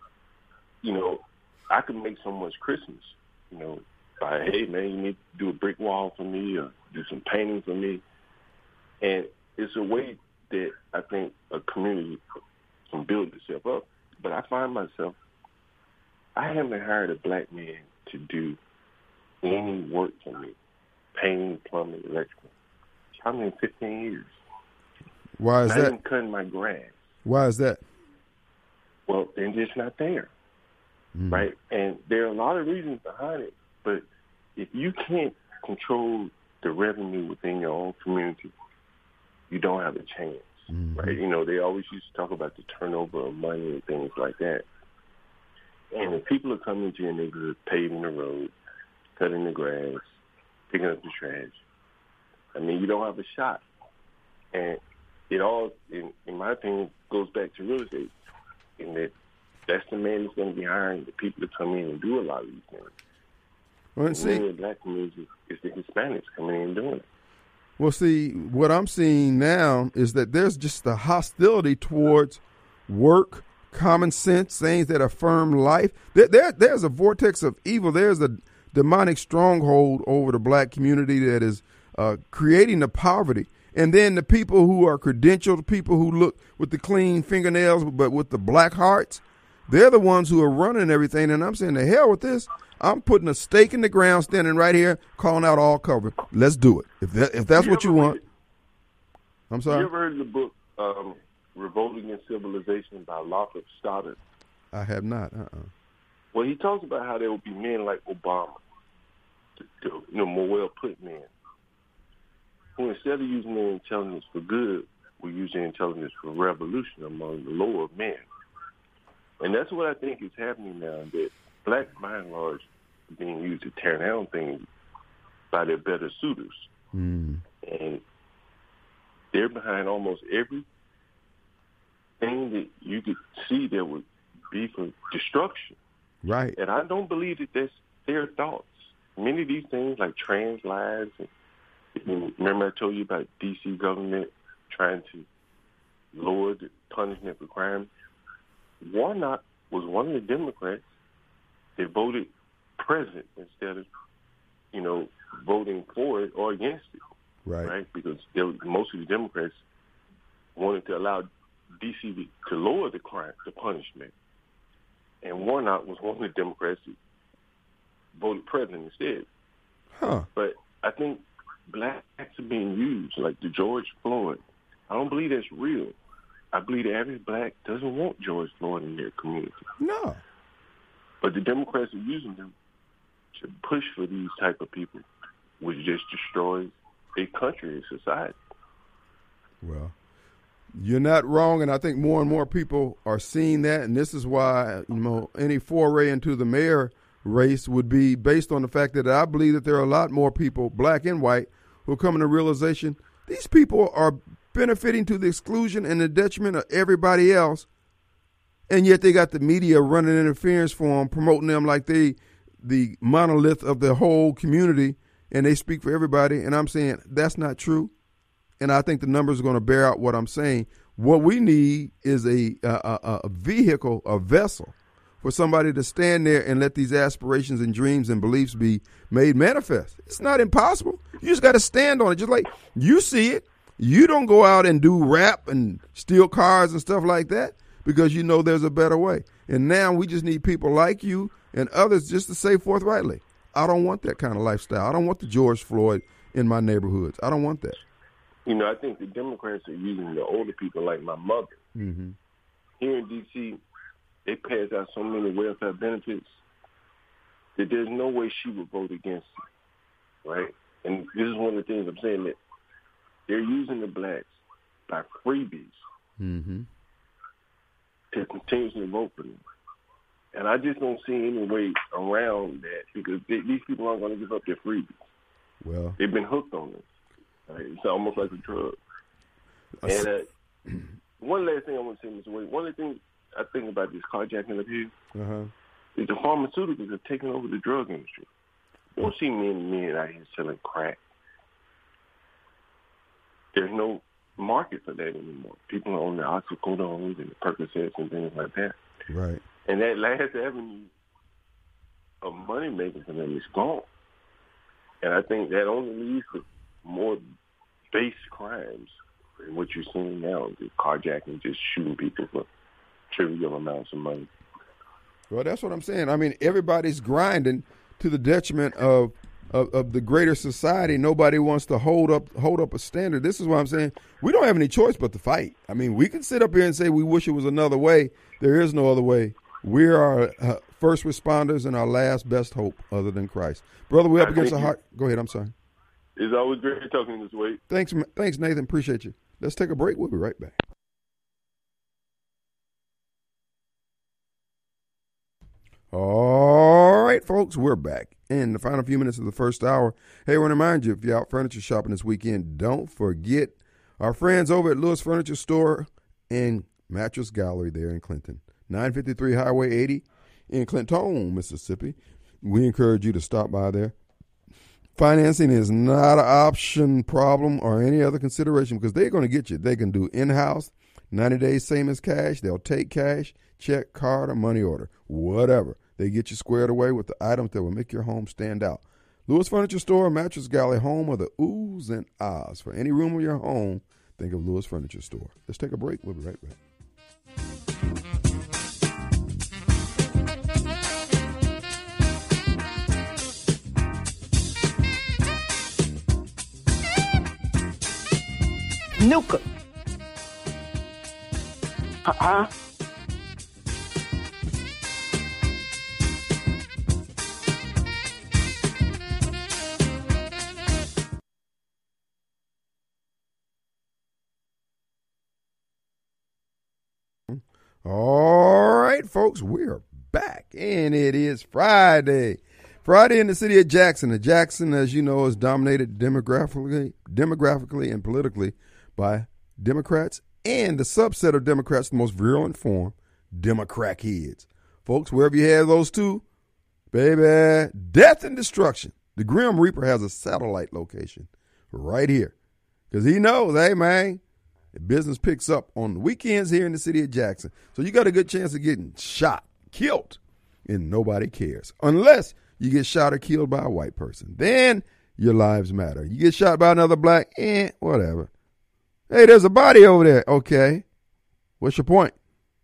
I can make so much Christmas, by, hey, man, you need to do a brick wall for me or do some painting for me. And it's a way that I think a community can build itself up. But I find myself, I haven't hired a black man to do any work for me, painting, plumbing, electrical. Probably in 15 years. Why is Not that? even cutting my grass. Why is that? Well, they're just not there, right? And there are a lot of reasons behind it. But if you can't control the revenue within your own community, you don't have a chance, right? They always used to talk about the turnover of money and things like that. And if people are coming to your neighborhood, paving the road, cutting the grass, picking up the trash, you don't have a shot. And it all, in my opinion, goes back to real estate, in that that's the man that's going to be hiring the people to come in and do a lot of these things. Well, see, in the black community, it's the Hispanics coming in and doing it. Well, see, what I'm seeing now is that there's just a hostility towards work, common sense, things that affirm life. There's a vortex of evil. There's a demonic stronghold over the black community that is creating the poverty. And then the people who are credentialed, people who look with the clean fingernails but with the black hearts, they're the ones who are running everything. And I'm saying, the hell with this. I'm putting a stake in the ground, standing right here, calling out all cover. Let's do it. If that's what you want. I'm sorry? You ever heard of the book Revolting in Civilization by Lothrop Stoddard? I have not. Well, he talks about how there will be men like Obama, more well-put men, who instead of using their intelligence for good, will use their intelligence for revolution among the lower men. And that's what I think is happening now, that blacks, by and large, are being used to tear down things by their better suitors. Mm. And they're behind almost every thing that you could see that would be for destruction. Right. And I don't believe that that's their thoughts. Many of these things, like trans lives, and remember I told you about D.C. government trying to lower the punishment for crime. Warnock was one of the Democrats that voted present instead of, voting for it or against it. Right. Because most of the Democrats wanted to allow D.C. to lower the punishment. And Warnock was one of the Democrats that voted present instead. Huh. But I think blacks are being used, like the George Floyd. I don't believe that's real. I believe the average black doesn't want George Floyd in their community. No. But the Democrats are using them to push for these type of people, which just destroys a country and society. Well, you're not wrong, and I think more and more people are seeing that, and this is why any foray into the mayor race would be based on the fact that I believe that there are a lot more people, black and white, who are coming to realization these people are benefiting to the exclusion and the detriment of everybody else, and yet they got the media running interference for them, promoting them like they the monolith of the whole community, and they speak for everybody. And I'm saying that's not true, and I think the numbers are going to bear out what I'm saying. What we need is a vehicle, a vessel, for somebody to stand there and let these aspirations and dreams and beliefs be made manifest. It's not impossible. You just got to stand on it. Just like you see it. You don't go out and do rap and steal cars and stuff like that because you know there's a better way. And now we just need people like you and others just to say forthrightly, I don't want that kind of lifestyle. I don't want the George Floyd in my neighborhoods. I don't want that. I think the Democrats are using the older people like my mother. Mm-hmm. Here in D.C., they pass out so many welfare benefits that there's no way she would vote against it, right? And this is one of the things I'm saying, that they're using the blacks by freebies mm-hmm. to continuously vote for them. And I just don't see any way around that because these people aren't going to give up their freebies. Well, they've been hooked on this. Right? It's almost like a drug. And one last thing I want to say, Mr. Wade, one of the things I think about this carjacking up here is the pharmaceuticals have taken over the drug industry. You don't see men out here selling crack. There's no market for that anymore. People are on the oxycodones and the Percocets and things like that. Right. And that last avenue of money making for them is gone. And I think that only leads to more base crimes than what you're seeing now, the carjacking, just shooting people for trivial amounts of money. Well, that's what I'm saying. I mean, everybody's grinding to the detriment of the greater society. Nobody wants to hold up a standard. This is why I'm saying we don't have any choice but to fight. I mean, we can sit up here and say we wish it was another way. There is no other way. We're our first responders and our last best hope other than Christ. Brother, we're up against a heart. Go ahead. I'm sorry. It's always great talking this way. Thanks, Nathan. Appreciate you. Let's take a break. We'll be right back. All right, folks, we're back in the final few minutes of the first hour. Hey, I want to remind you, if you're out furniture shopping this weekend, don't forget our friends over at Lewis Furniture Store and Mattress Gallery there in Clinton. 953 Highway 80 in Clinton, Mississippi. we encourage you to stop by there. Financing is not an option, problem, or any other consideration because they're going to get you. They can do in-house, 90 days, same as cash. They'll take cash, check, card, or money order, whatever. They get you squared away with the items that will make your home stand out. Lewis Furniture Store, Mattress Galley, home of the oohs and ahs. For any room of your home, think of Lewis Furniture Store. Let's take a break. We'll be right back. Nuka. Huh? All right, folks, we're back, and it is Friday. Friday in the city of Jackson. And Jackson, as you know, is dominated demographically and politically by Democrats and the subset of Democrats, the most virulent form, Democrat heads. Folks, wherever you have those two, baby, death and destruction. The Grim Reaper has a satellite location right here because he knows, hey, man, business picks up on the weekends here in the city of Jackson. So you got a good chance of getting shot, killed, and nobody cares. Unless you get shot or killed by a white person. Then your lives matter. You get shot by another black, whatever. Hey, there's a body over there. Okay. What's your point?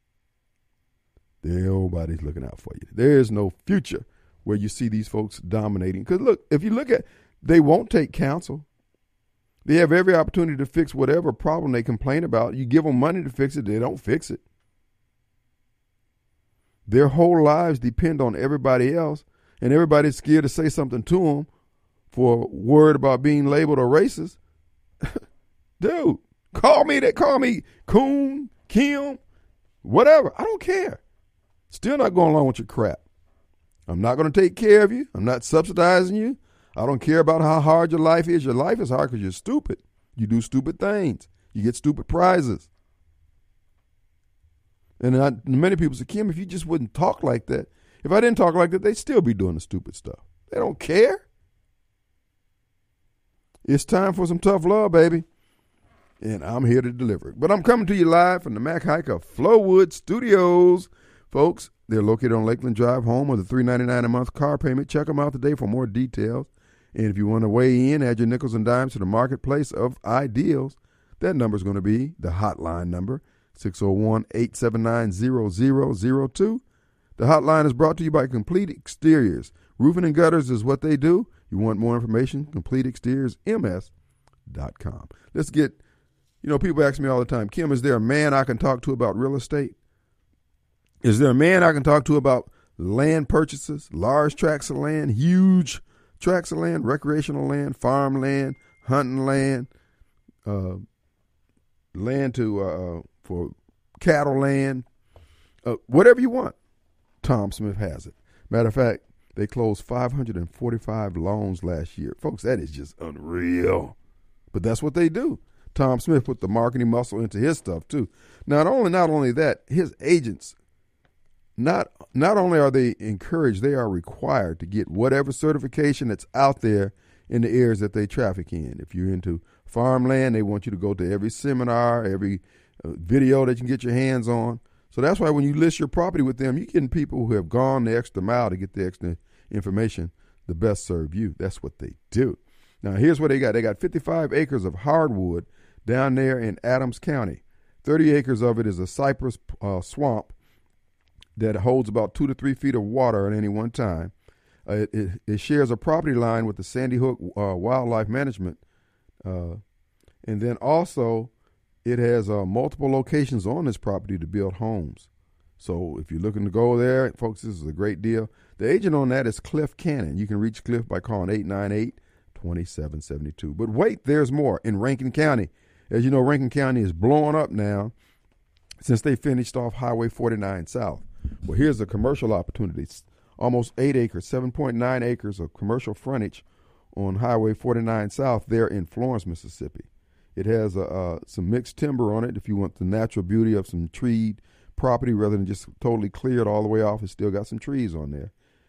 Nobody's looking out for you. There's no future where you see these folks dominating. Because look, if you look at, they won't take counsel. They have every opportunity to fix whatever problem they complain about. You give them money to fix it, they don't fix it. Their whole lives depend on everybody else, and everybody's scared to say something to them for worried about being labeled a racist. Dude, call me Coon, Kim, whatever. I don't care. Still not going along with your crap. I'm not going to take care of you. I'm not subsidizing you. I don't care about how hard your life is. Your life is hard because you're stupid. You do stupid things. You get stupid prizes. And many people say, Kim, if you just wouldn't talk like that, if I didn't talk like that, they'd still be doing the stupid stuff. They don't care. It's time for some tough love, baby. And I'm here to deliver it. But I'm coming to you live from the Mac Haik Flowood Studios. Folks, they're located on Lakeland Drive, home of the $3.99 a month car payment. Check them out today for more details. And if you want to weigh in, add your nickels and dimes to the marketplace of ideals. That number is going to be the hotline number, 601-879-0002. The hotline is brought to you by Complete Exteriors. Roofing and gutters is what they do. You want more information? CompleteExteriorsMS.com. Let's get, people ask me all the time, Kim, is there a man I can talk to about real estate? Is there a man I can talk to about land purchases, large tracts of land, huge tracts of land, recreational land, farmland, hunting land, land for cattle land, whatever you want? Tom Smith has it. Matter of fact, they closed 545 loans last year. Folks, that is just unreal. But that's what they do. Tom Smith put the marketing muscle into his stuff too. Not only that, his agents, not only are they encouraged, they are required to get whatever certification that's out there in the areas that they traffic in. If you're into farmland, they want you to go to every seminar, every video that you can get your hands on. So that's why when you list your property with them, you're getting people who have gone the extra mile to get the extra information to best serve you. That's what they do. Now, here's what they got. They got 55 acres of hardwood down there in Adams County. 30 acres of it is a cypress swamp that holds about 2 to 3 feet of water at any one time. It shares a property line with the Sandy Hook Wildlife Management. And then also it has multiple locations on this property to build homes. So if you're looking to go there, folks, this is a great deal. The agent on that is Cliff Cannon. You can reach Cliff by calling 898-2772. But wait, there's more in Rankin County. As you know, Rankin County is blowing up now since they finished off Highway 49 South. Well, here's a commercial opportunity. It's almost 8 acres, 7.9 acres of commercial frontage on Highway 49 South there in Florence, Mississippi. It has some mixed timber on it if you want the natural beauty of some treed property rather than just totally cleared all the way off. It's still got some trees on there.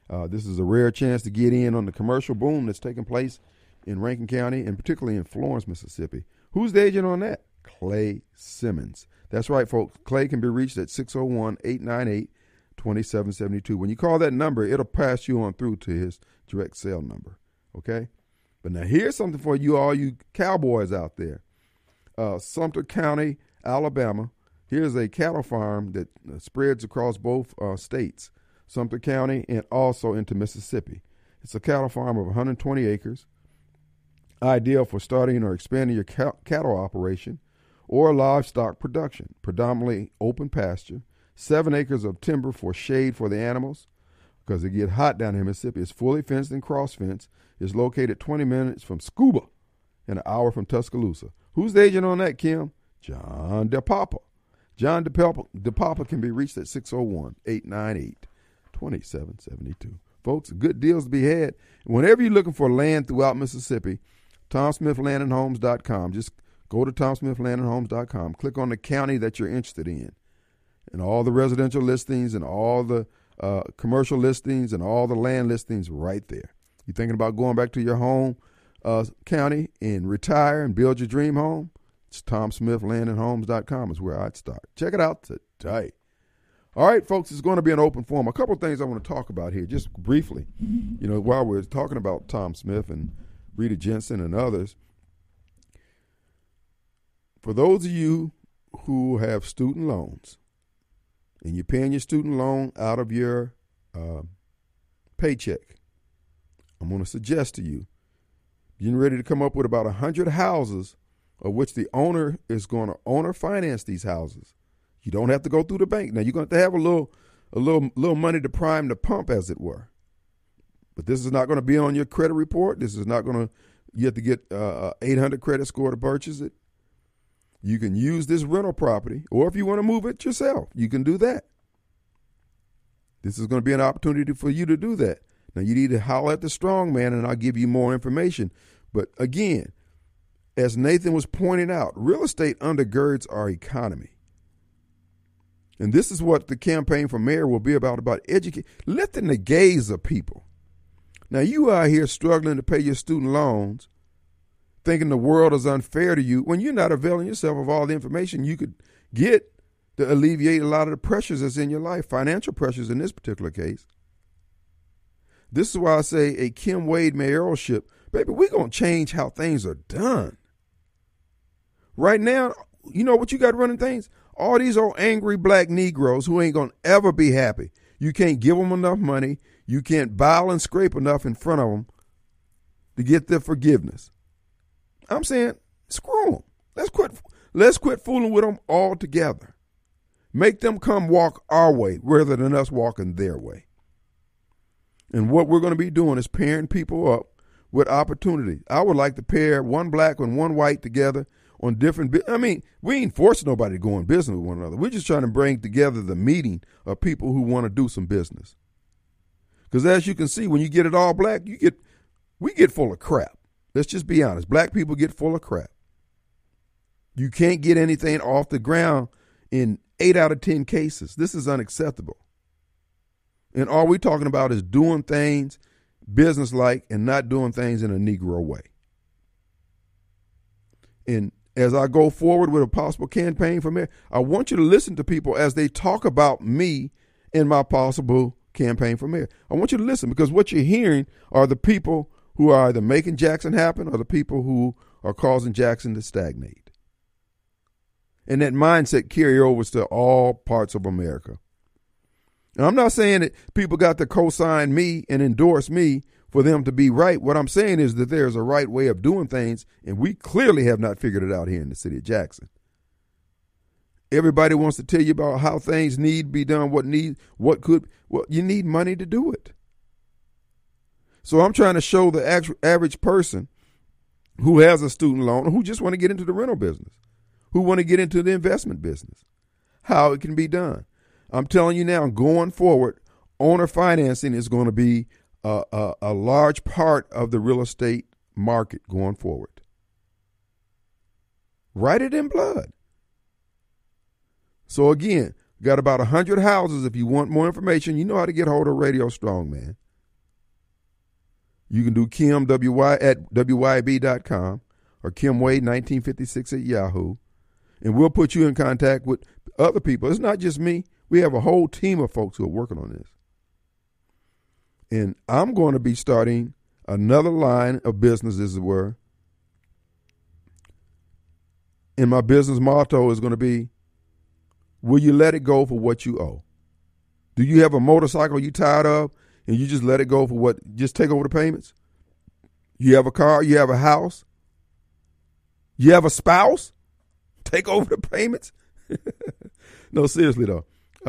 This is a rare chance to get in on the commercial boom that's taking place in Rankin County and particularly in Florence, Mississippi. Who's the agent on that? Clay Simmons. That's right, folks. Clay can be reached at 601-898-2772. When you call that number, it'll pass you on through to his direct cell number, okay? But now here's something for you, all you cowboys out there. Sumter County, Alabama. Here's a cattle farm that spreads across both states, Sumter County and also into Mississippi. It's a cattle farm of 120 acres, ideal for starting or expanding your cattle operation or livestock production, predominantly open pasture, 7 acres of timber for shade for the animals because it get hot down in Mississippi. It's fully fenced and cross-fenced. It's located 20 minutes from Scuba and an hour from Tuscaloosa. Who's the agent on that, Kim? John DePapa. John DePapa can be reached at 601-898-2772. Folks, good deals to be had. Whenever you're looking for land throughout Mississippi, TomSmithLandandHomes.com. Just go to TomSmithLandandHomes.com. Click on the county that you're interested in. And all the residential listings and all the commercial listings and all the land listings right there. You're thinking about going back to your home county and retire and build your dream home? It's TomSmithLandandHomes.com is where I'd start. Check it out today. All right, folks, it's going to be an open forum. A couple of things I want to talk about here just briefly. You know, while we're talking about Tom Smith and Rita Jensen and others, for those of you who have student loans and you're paying your student loan out of your paycheck, I'm going to suggest to you, getting ready to come up with about 100 houses of which the owner is going to owner finance these houses. You don't have to go through the bank. Now, you're going to have a little money to prime the pump, as it were. But this is not going to be on your credit report. This is not going to, you have to get 800 credit score to purchase it. You can use this rental property, or if you want to move it yourself, you can do that. This is going to be an opportunity for you to do that. Now, you need to holler at the strong man, and I'll give you more information. But again, as Nathan was pointing out, real estate undergirds our economy. And this is what the campaign for mayor will be about lifting the gaze of people. Now, you are here struggling to pay your student loans, thinking the world is unfair to you, when you're not availing yourself of all the information you could get to alleviate a lot of the pressures that's in your life, financial pressures in this particular case. This is why I say a Kim Wade mayoralship, baby, we're going to change how things are done. Right now, you know what you got running things? All these old angry black Negroes who ain't going to ever be happy. You can't give them enough money. You can't bow and scrape enough in front of them to get their forgiveness. I'm saying, screw them. Let's quit fooling with them altogether. Make them come walk our way rather than us walking their way. And what we're going to be doing is pairing people up with opportunity. I would like to pair one black and one white together on different, we ain't forcing nobody to go in business with one another. We're just trying to bring together the meeting of people who want to do some business. Because as you can see, when you get it all black, we get full of crap. Let's just be honest. Black people get full of crap. You can't get anything off the ground in 8 out of 10 cases. This is unacceptable. And all we're talking about is doing things business-like and not doing things in a Negro way. And as I go forward with a possible campaign for mayor, I want you to listen to people as they talk about me and my possible campaign for mayor. I want you to listen, because what you're hearing are the people who are either making Jackson happen or the people who are causing Jackson to stagnate. And that mindset carry over to all parts of America. And I'm not saying that people got to co-sign me and endorse me for them to be right. What I'm saying is that there's a right way of doing things, and we clearly have not figured it out here in the city of Jackson. Everybody wants to tell you about how things need to be done, you need money to do it. So I'm trying to show the average person who has a student loan or who just want to get into the rental business, who want to get into the investment business, how it can be done. I'm telling you now, going forward, owner financing is going to be a large part of the real estate market going forward. Write it in blood. So again, got about 100 houses. If you want more information, you know how to get hold of Radio Strongman. You can do Kim, W-Y, at WYB.com or Kim Wade 1956 at Yahoo. And we'll put you in contact with other people. It's not just me. We have a whole team of folks who are working on this. And I'm going to be starting another line of business, as it were. And my business motto is going to be, will you let it go for what you owe? Do you have a motorcycle you tired of and you just let it go for what, just take over the payments? You have a car, you have a house, you have a spouse, take over the payments? No, seriously though.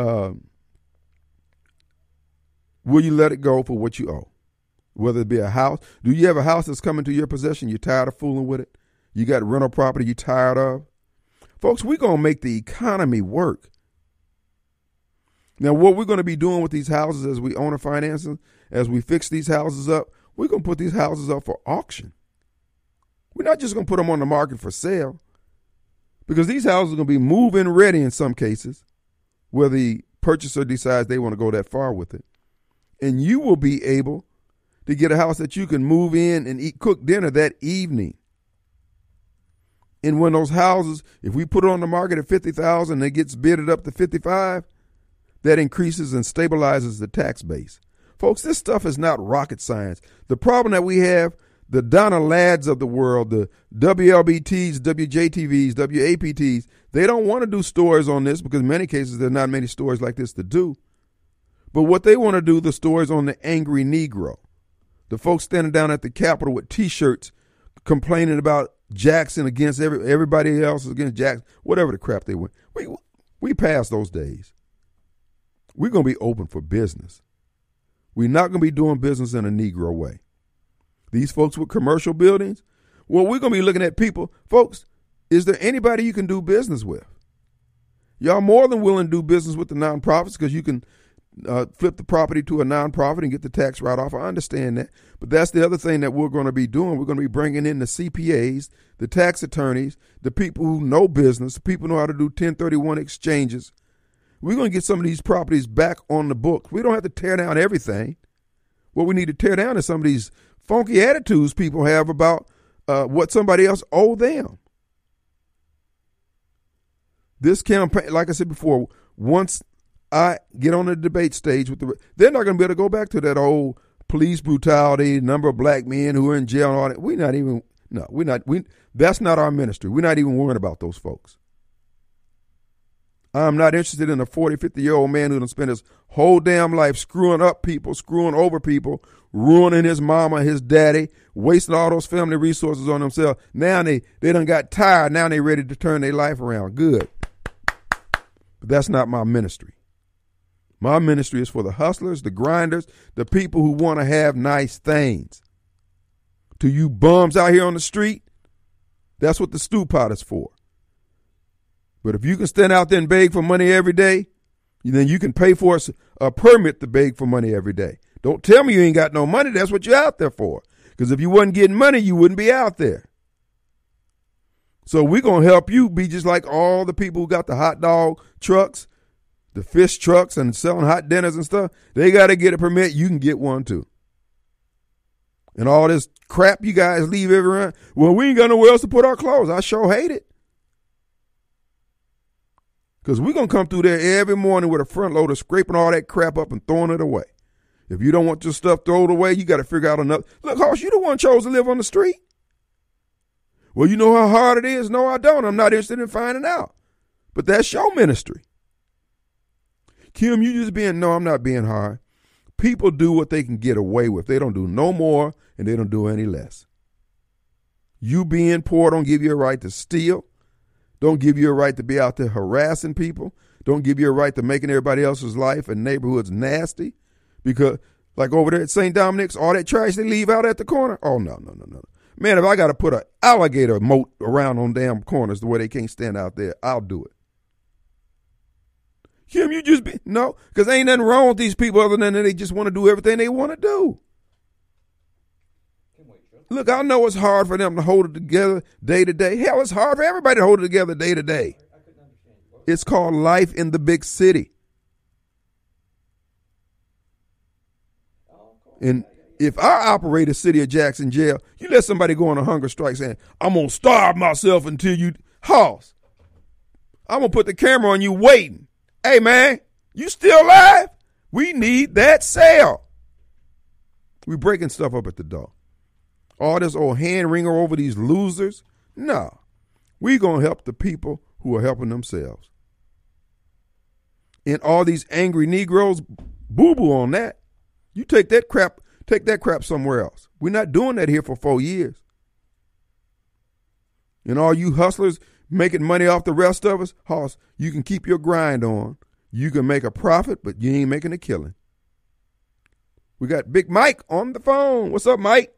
Will you let it go for what you owe? Whether it be a house. Do you have a house that's coming to your possession? You're tired of fooling with it? You got rental property you're tired of? Folks, we're going to make the economy work. Now, what we're going to be doing with these houses as we own and finance them, as we fix these houses up, we're going to put these houses up for auction. We're not just going to put them on the market for sale, because these houses are going to be move-in ready in some cases where the purchaser decides they want to go that far with it. And you will be able to get a house that you can move in and cook dinner that evening. And when those houses, if we put it on the market at $50,000 and it gets bidded up to $55,000, that increases and stabilizes the tax base. Folks, this stuff is not rocket science. The problem that we have, the Donna Ladds of the world, the WLBTs, WJTVs, WAPTs, they don't want to do stories on this because in many cases there are not many stories like this to do. But what they want to do, the stories on the angry Negro, the folks standing down at the Capitol with T-shirts complaining about Jackson against everybody else against Jackson, whatever the crap they went. We passed those days. We're going to be open for business. We're not going to be doing business in a Negro way. These folks with commercial buildings, well, we're going to be looking at people. Folks, is there anybody you can do business with? Y'all more than willing to do business with the nonprofits because you can flip the property to a nonprofit and get the tax write-off. I understand that. But that's the other thing that we're going to be doing. We're going to be bringing in the CPAs, the tax attorneys, the people who know business, the people who know how to do 1031 exchanges. We're going to get some of these properties back on the books. We don't have to tear down everything. What we need to tear down is some of these funky attitudes people have about what somebody else owe them. This campaign, like I said before, once I get on the debate stage they're not going to be able to go back to that old police brutality, number of black men who are in jail and all that. That's not our ministry. We're not even worrying about those folks. I'm not interested in a 40, 50-year-old man who done spent his whole damn life screwing up people, screwing over people, ruining his mama, his daddy, wasting all those family resources on themselves. Now they done got tired. Now they ready to turn their life around. Good. But that's not my ministry. My ministry is for the hustlers, the grinders, the people who want to have nice things. To you bums out here on the street, that's what the stew pot is for. But if you can stand out there and beg for money every day, then you can pay for a permit to beg for money every day. Don't tell me you ain't got no money. That's what you're out there for. Because if you wasn't getting money, you wouldn't be out there. So we're going to help you be just like all the people who got the hot dog trucks, the fish trucks, and selling hot dinners and stuff. They got to get a permit. You can get one too. And all this crap you guys leave everywhere. Well, we ain't got nowhere else to put our clothes. I sure hate it. Because we're going to come through there every morning with a front loader scraping all that crap up and throwing it away. If you don't want your stuff thrown away, you got to figure out another. Look, Hoss, you the one chose to live on the street. Well, you know how hard it is? No, I don't. I'm not interested in finding out. But that's your ministry. Kim, you just no, I'm not being hard. People do what they can get away with. They don't do no more and they don't do any less. You being poor don't give you a right to steal. Don't give you a right to be out there harassing people. Don't give you a right to making everybody else's life and neighborhoods nasty. Because, like over there at St. Dominic's, all that trash they leave out at the corner. Oh, no. Man, if I got to put an alligator moat around on damn corners the way they can't stand out there, I'll do it. Kim, no, because ain't nothing wrong with these people other than they just want to do everything they want to do. Look, I know it's hard for them to hold it together day to day. Hell, it's hard for everybody to hold it together day to day. It's called life in the big city. And If I operate a City of Jackson jail, you let somebody go on a hunger strike saying, I'm going to starve myself until you, Hoss, I'm going to put the camera on you waiting. Hey, man, you still alive? We need that cell. We breaking stuff up at the door. All this old hand wringer over these losers? No. We going to help the people who are helping themselves. And all these angry Negroes, boo-boo on that. You take that crap somewhere else. We're not doing that here for 4 years. And all you hustlers making money off the rest of us, Hoss, you can keep your grind on. You can make a profit, but you ain't making a killing. We got Big Mike on the phone. What's up, Mike?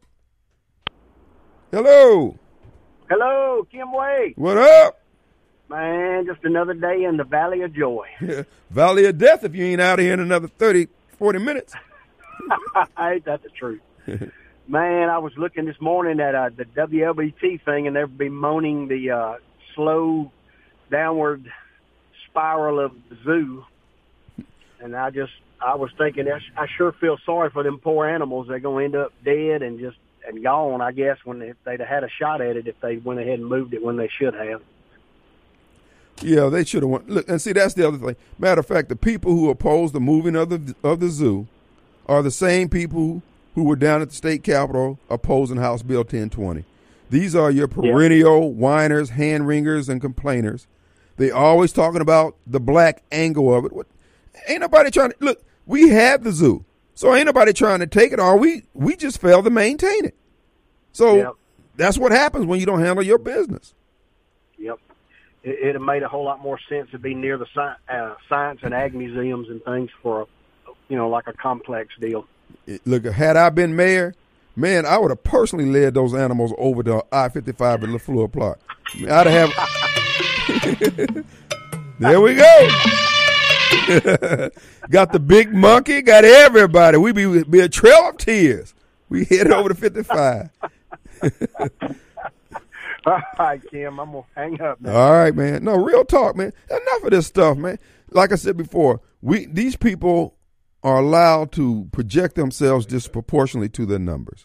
Hello. Hello, Kim Wade. What up? Man, just another day in the Valley of Joy. Valley of Death if you ain't out of here in another 30, 40 minutes. Ain't that the truth? Man, I was looking this morning at the WLBT thing, and they're bemoaning the slow downward spiral of the zoo. And I was thinking, I sure feel sorry for them poor animals. They're going to end up dead and gone, I guess, if they'd have had a shot at it, if they went ahead and moved it when they should have. Yeah, they should have went. Look, and see, that's the other thing. Matter of fact, the people who oppose the moving of the zoo are the same people who were down at the state capitol opposing House Bill 1020. These are your perennial whiners, hand-wringers, and complainers. They always talking about the black angle of it. Ain't nobody trying to, look, we have the zoo. So ain't nobody trying to take it, or we just fail to maintain it. So that's what happens when you don't handle your business. Yep. It have made a whole lot more sense to be near the science and ag museums and things for, like a complex deal. Look, had I been mayor, man, I would have personally led those animals over to I-55 at LaFleur Park. I'd have. There we go. Got the big monkey, got everybody. We be a trail of tears. We headed over to 55. All right, Kim, I'm going to hang up now. All right, man. No, real talk, man. Enough of this stuff, man. Like I said before, these people are allowed to project themselves disproportionately to their numbers.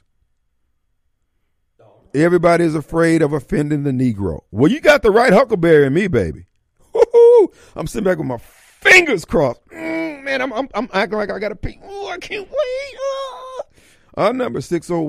Everybody is afraid of offending the Negro. Well, you got the right Huckleberry in me, baby. Woo-hoo. I'm sitting back with my fingers crossed. Man, I'm acting like I got to pee. Ooh, I can't wait. Our number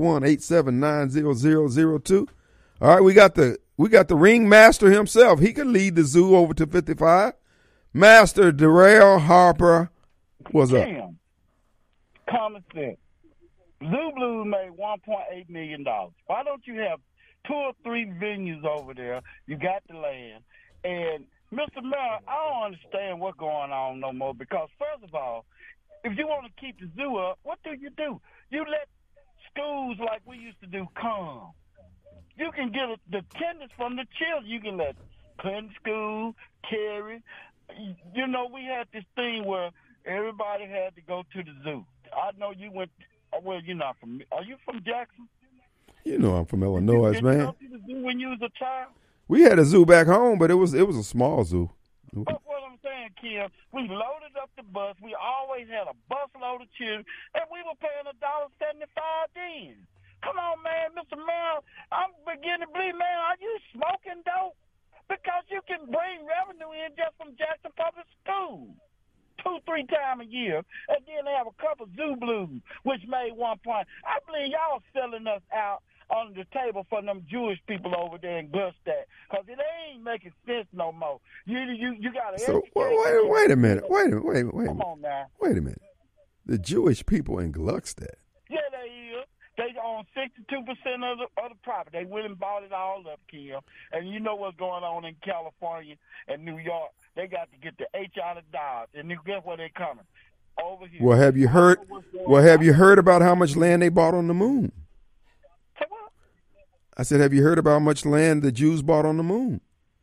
601-879-0002. All right, we got the ringmaster himself. He can lead the zoo over to 55. Master Darrell Harper, what's up? Common sense. Zoo Blues made $1.8 million. Why don't you have 2 or 3 venues over there? You got the land. And, Mr. Mayor, I don't understand what's going on no more because, first of all, if you want to keep the zoo up, what do? You let schools like we used to do come. You can get the attendance from the children. You can let Clinton School, Cary. We had this thing where everybody had to go to the zoo. I know you went. Well, you're not from. Are you from Jackson? You know I'm from Illinois, Did man. You go to the zoo when you was a child? We had a zoo back home, but it was a small zoo. That's what I'm saying, Kim. We loaded up the bus. We always had a bus load of children, and we were paying $1.75 then. Come on, man, Mr. Mayor. I'm beginning to believe, man, are you smoking dope? Because you can bring revenue in just from Jackson Public Schools 2-3 times a year, and then they have a couple Zoo Blues, which made 1 point. I believe y'all selling us out on the table for them Jewish people over there in Gluckstadt, because it ain't making sense no more. You got to. So wait a minute. Wait a minute. Come on now. Wait a minute. The Jewish people in Gluckstadt. Yeah, they is. They own 62% of the property. They went and bought it all up, Kim. And you know what's going on in California and New York. They got to get the H out of Dodge. And guess where they're coming? Over here. Well, have you heard about how much land they bought on the moon? What? I said, have you heard about how much land the Jews bought on the moon?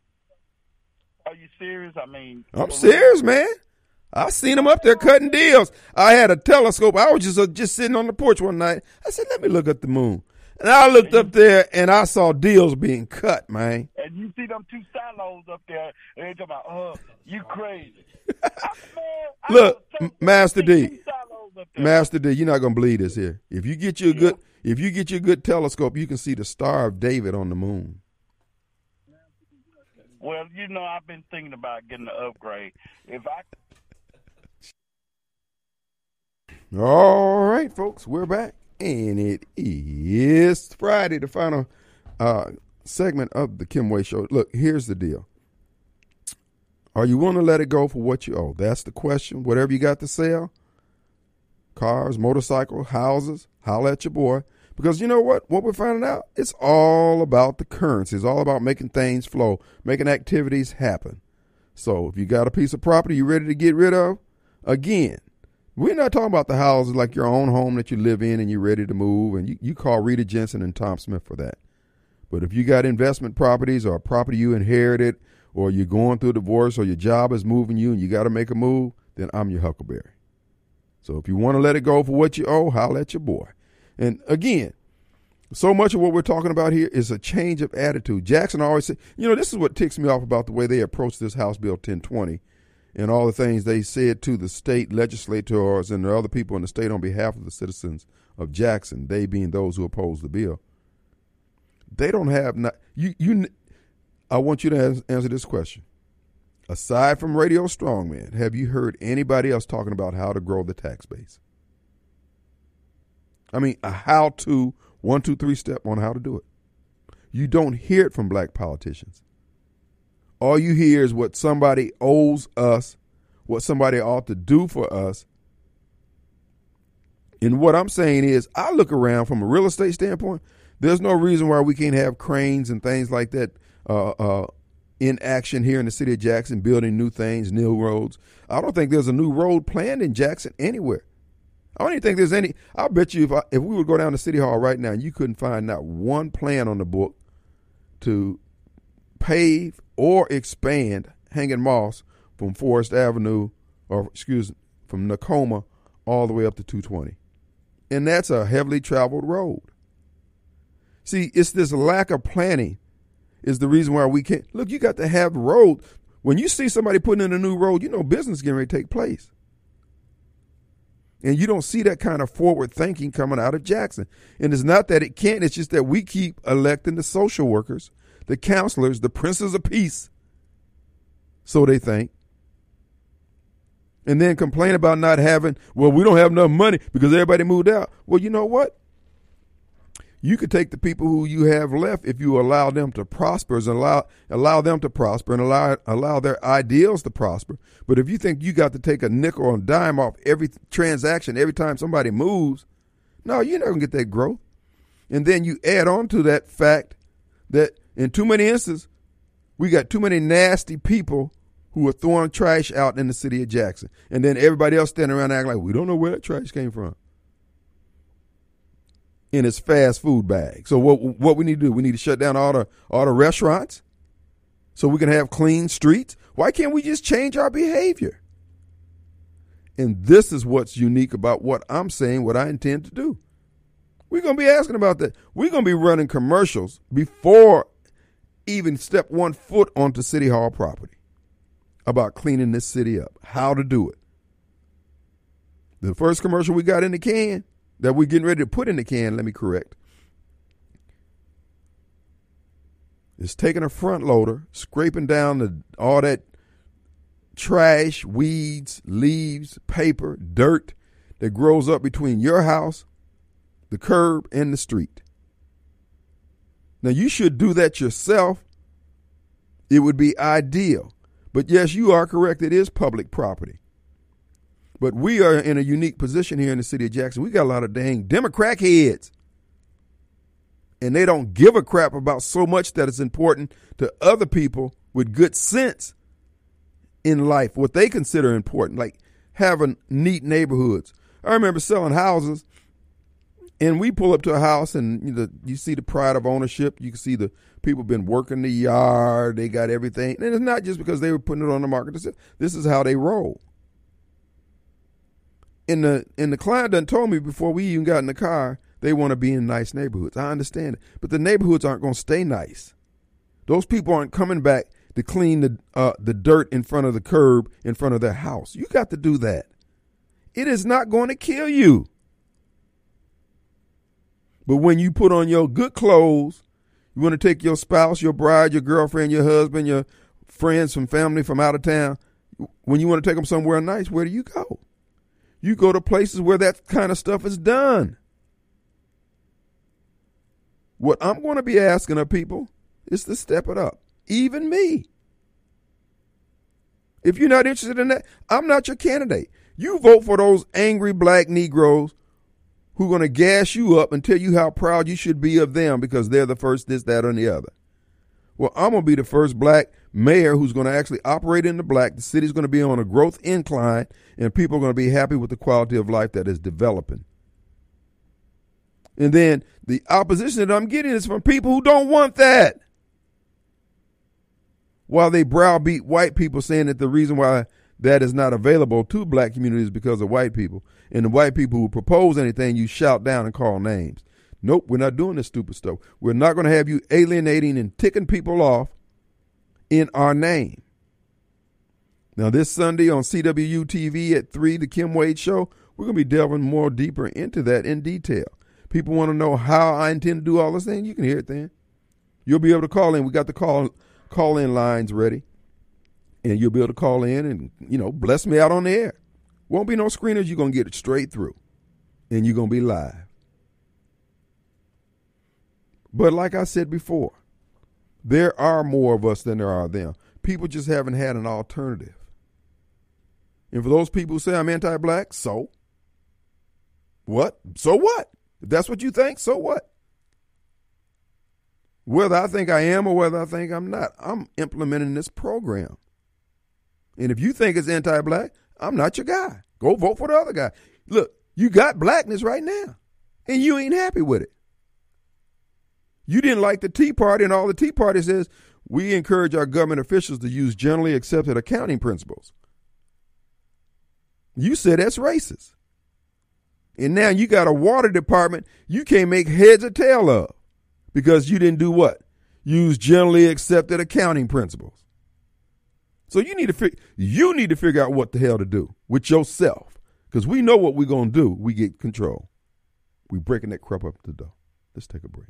Are you serious? I mean, I'm serious, man. I seen them up there cutting deals. I had a telescope. I was just sitting on the porch one night. I said, let me look at the moon. And I looked up there, and I saw deals being cut, man. And you see them 2 silos up there, and they talking about, you crazy. Look, Master D. Master D, you're not gonna believe this here. If you get you a good telescope, you can see the Star of David on the moon. Well, I've been thinking about getting an upgrade. All right, folks, we're back, and it is Friday, the final segment of the Kim Way Show. Look, here's the deal. Are you willing to let it go for what you owe? That's the question. Whatever you got to sell, cars, motorcycles, houses, holla at your boy. Because you know what? What we're finding out, it's all about the currency. It's all about making things flow, making activities happen. So if you got a piece of property you're ready to get rid of, again, we're not talking about the houses like your own home that you live in and you're ready to move, and you call Rita Jensen and Tom Smith for that. But if you got investment properties or a property you inherited, or you're going through a divorce, or your job is moving you and you got to make a move, then I'm your Huckleberry. So if you want to let it go for what you owe, holla at your boy. And again, so much of what we're talking about here is a change of attitude. Jackson always said, this is what ticks me off about the way they approached this House Bill 1020 and all the things they said to the state legislators and the other people in the state on behalf of the citizens of Jackson, they being those who oppose the bill. They don't have I want you to answer this question. Aside from Radio Strongman, have you heard anybody else talking about how to grow the tax base? I mean, a how-to 1, 2, 3 step on how to do it. You don't hear it from black politicians. All you hear is what somebody owes us, what somebody ought to do for us. And what I'm saying is, I look around from a real estate standpoint, there's no reason why we can't have cranes and things like that in action here in the city of Jackson, building new things, new roads. I don't think there's a new road planned in Jackson anywhere. I don't even think there's any. I'll bet you if we would go down to City Hall right now, you couldn't find not one plan on the book to pave or expand Hanging Moss from Forest Avenue, from Nakoma all the way up to 220. And that's a heavily traveled road. See, it's this lack of planning is the reason why we can't. Look, you got to have the road. When you see somebody putting in a new road, business getting ready to take place. And you don't see that kind of forward thinking coming out of Jackson. And it's not that it can't. It's just that we keep electing the social workers, the counselors, the princes of peace. So they think. And then complain about not having, we don't have enough money because everybody moved out. Well, you know what? You could take the people who you have left if you allow them to prosper and allow them to prosper and allow their ideals to prosper. But if you think you got to take a nickel or a dime off every transaction every time somebody moves, no, you're not going to get that growth. And then you add on to that fact that in too many instances, we got too many nasty people who are throwing trash out in the city of Jackson. And then everybody else standing around acting like, we don't know where that trash came from. In its fast food bag. So what we need to do, we need to shut down all the restaurants so we can have clean streets. Why can't we just change our behavior? And this is what's unique about what I'm saying, what I intend to do. We're going to be asking about that. We're going to be running commercials before even step 1 foot onto City Hall property about cleaning this city up, how to do it. The first commercial we got in the can that we're getting ready to put in the can, let me correct, is taking a front loader, scraping down all that trash, weeds, leaves, paper, dirt that grows up between your house, the curb, and the street. Now, you should do that yourself. It would be ideal. But yes, you are correct. It is public property. But we are in a unique position here in the city of Jackson. We got a lot of dang Democrat heads. And they don't give a crap about so much that it's important to other people with good sense in life, what they consider important, like having neat neighborhoods. I remember selling houses, and we pull up to a house, and you see the pride of ownership. You can see the people been working the yard. They got everything. And it's not just because they were putting it on the market. This is how they roll. And the client done told me before we even got in the car, they want to be in nice neighborhoods. I understand it. But the neighborhoods aren't going to stay nice. Those people aren't coming back to clean the dirt in front of the curb in front of their house. You got to do that. It is not going to kill you. But when you put on your good clothes, you want to take your spouse, your bride, your girlfriend, your husband, your friends from family from out of town, when you want to take them somewhere nice, where do you go? You go to places where that kind of stuff is done. What I'm going to be asking of people is to step it up. Even me. If you're not interested in that, I'm not your candidate. You vote for those angry black Negroes who are going to gas you up and tell you how proud you should be of them because they're the first this, that, or the other. Well, I'm going to be the first black mayor who's going to actually operate in the black. The city's going to be on a growth incline, and people are going to be happy with the quality of life that is developing. And then the opposition that I'm getting is from people who don't want that. While they browbeat white people saying that the reason why that is not available to black communities is because of white people. And the white people who propose anything, you shout down and call names. Nope, we're not doing this stupid stuff. We're not going to have you alienating and ticking people off in our name. Now, this Sunday on CWU-TV at 3, the Kim Wade Show, we're going to be delving more deeper into that in detail. People want to know how I intend to do all this thing. You can hear it then. You'll be able to call in. We got the call-in lines ready. And you'll be able to call in and, bless me out on the air. Won't be no screeners. You're going to get it straight through. And you're going to be live. But like I said before, there are more of us than there are them. People just haven't had an alternative. And for those people who say I'm anti-black, so what? So what? If that's what you think, so what? Whether I think I am or whether I think I'm not, I'm implementing this program. And if you think it's anti-black, I'm not your guy. Go vote for the other guy. Look, you got blackness right now, and you ain't happy with it. You didn't like the Tea Party, and all the Tea Party says, we encourage our government officials to use generally accepted accounting principles. You said that's racist. And now you got a water department you can't make heads or tail of because you didn't do what? Use generally accepted accounting principles. So you need to figure out what the hell to do with yourself, because we know what we're going to do. We get control. We breaking that crap up the door. Let's take a break.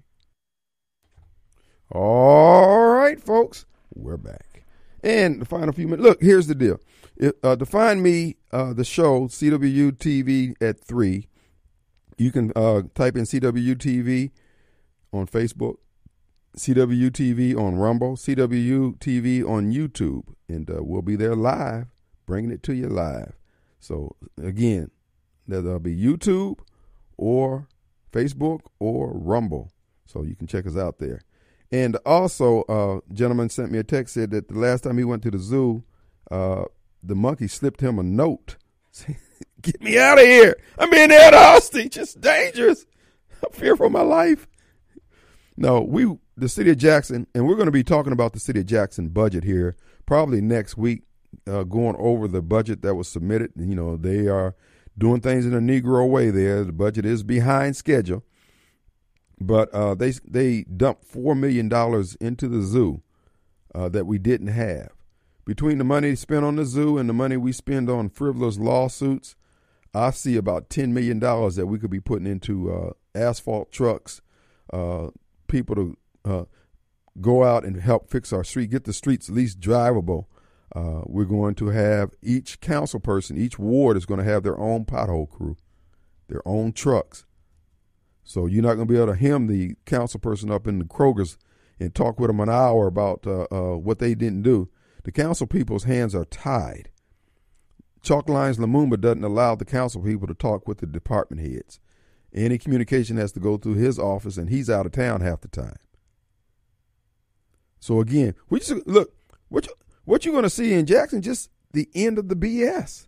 All right, folks, we're back. And the final few minutes. Look, here's the deal. To find me, the show, CWU TV at 3, you can type in CWU TV on Facebook, CWU TV on Rumble, CWU TV on YouTube, and we'll be there live, bringing it to you live. So, again, there'll be YouTube or Facebook or Rumble, so you can check us out there. And also, a gentleman sent me a text, said that the last time he went to the zoo, the monkey slipped him a note. Get me out of here. I'm being held hostage. It's dangerous. I'm fearful for my life. No, the city of Jackson, and we're going to be talking about the city of Jackson budget here probably next week, going over the budget that was submitted. They are doing things in a Negro way there. The budget is behind schedule. But they dumped $4 million into the zoo that we didn't have. Between the money spent on the zoo and the money we spend on frivolous lawsuits, I see about $10 million that we could be putting into asphalt trucks, people to go out and help fix our street, get the streets at least drivable. We're going to have each council person, each ward is going to have their own pothole crew, their own trucks. So you're not going to be able to hem the council person up in the Kroger's and talk with them an hour about what they didn't do. The council people's hands are tied. Chalk Lines Lumumba doesn't allow the council people to talk with the department heads. Any communication has to go through his office, and he's out of town half the time. So again, look, what you're going to see in Jackson, just the end of the BS.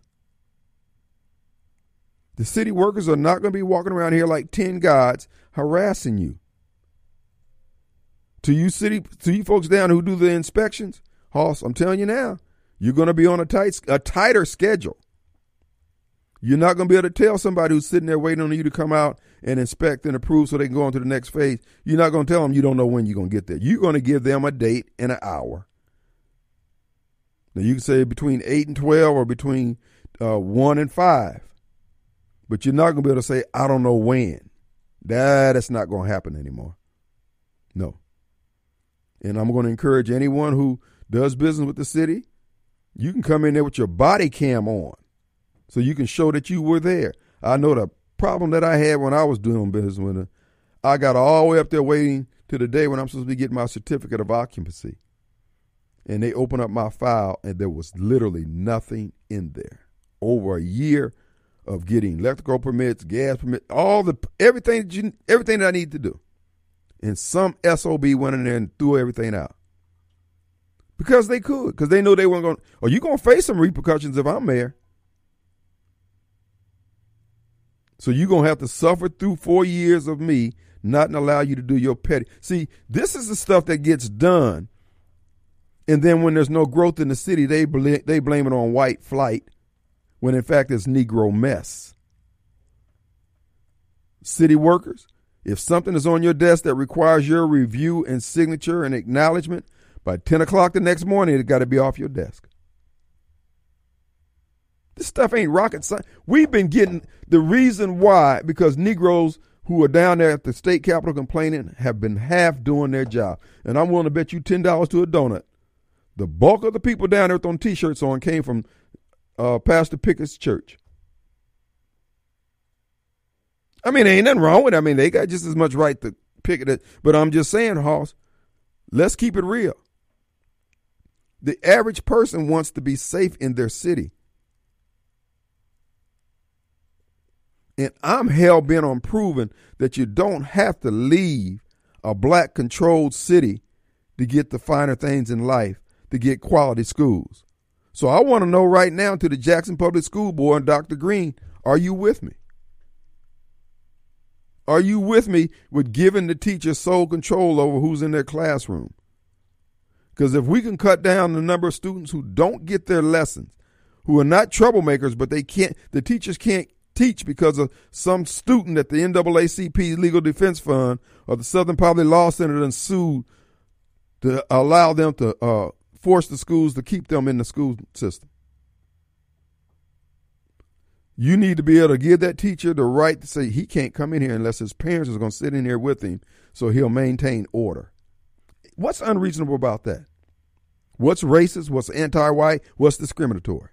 The city workers are not going to be walking around here like 10 gods harassing you. To you folks down who do the inspections, Hoss, I'm telling you now, you're going to be on a tighter schedule. You're not going to be able to tell somebody who's sitting there waiting on you to come out and inspect and approve so they can go on to the next phase. You're not going to tell them you don't know when you're going to get there. You're going to give them a date and an hour. Now, you can say between 8 and 12 or between 1 and 5. But you're not going to be able to say, I don't know when. That's not going to happen anymore. No. And I'm going to encourage anyone who does business with the city, you can come in there with your body cam on so you can show that you were there. I know the problem that I had when I was doing business with them. I got all the way up there waiting to the day when I'm supposed to be getting my certificate of occupancy. And they opened up my file, and there was literally nothing in there. Over a year of getting electrical permits, gas permits, everything that I need to do. And some SOB went in there and threw everything out. Because they could. Because they knew they weren't going to. Are you going to face some repercussions if I'm mayor? So you're going to have to suffer through 4 years of me not allow you to do your petty. See, this is the stuff that gets done. And then when there's no growth in the city, they blame it on white flight, when in fact it's Negro mess. City workers, if something is on your desk that requires your review and signature and acknowledgement, by 10 o'clock the next morning, it got to be off your desk. This stuff ain't rocket science. We've been getting the reason why, because Negroes who are down there at the state capitol complaining have been half doing their job. And I'm willing to bet you $10 to a donut. The bulk of the people down there with on T-shirts on came from Pastor Pickett's church. I mean, there ain't nothing wrong with it. I mean, they got just as much right to picket it. But I'm just saying, Hoss, let's keep it real. The average person wants to be safe in their city. And I'm hell-bent on proving that you don't have to leave a black-controlled city to get the finer things in life, to get quality schools. So I want to know right now, to the Jackson Public School Board and Dr. Green, are you with me? Are you with me with giving the teachers sole control over who's in their classroom? Because if we can cut down the number of students who don't get their lessons, who are not troublemakers, but the teachers can't teach because of some student at the NAACP Legal Defense Fund or the Southern Poverty Law Center and sued to allow them to force the schools to keep them in the school system. You need to be able to give that teacher the right to say he can't come in here unless his parents are going to sit in here with him so he'll maintain order. What's unreasonable about that? What's racist? What's anti-white? What's discriminatory?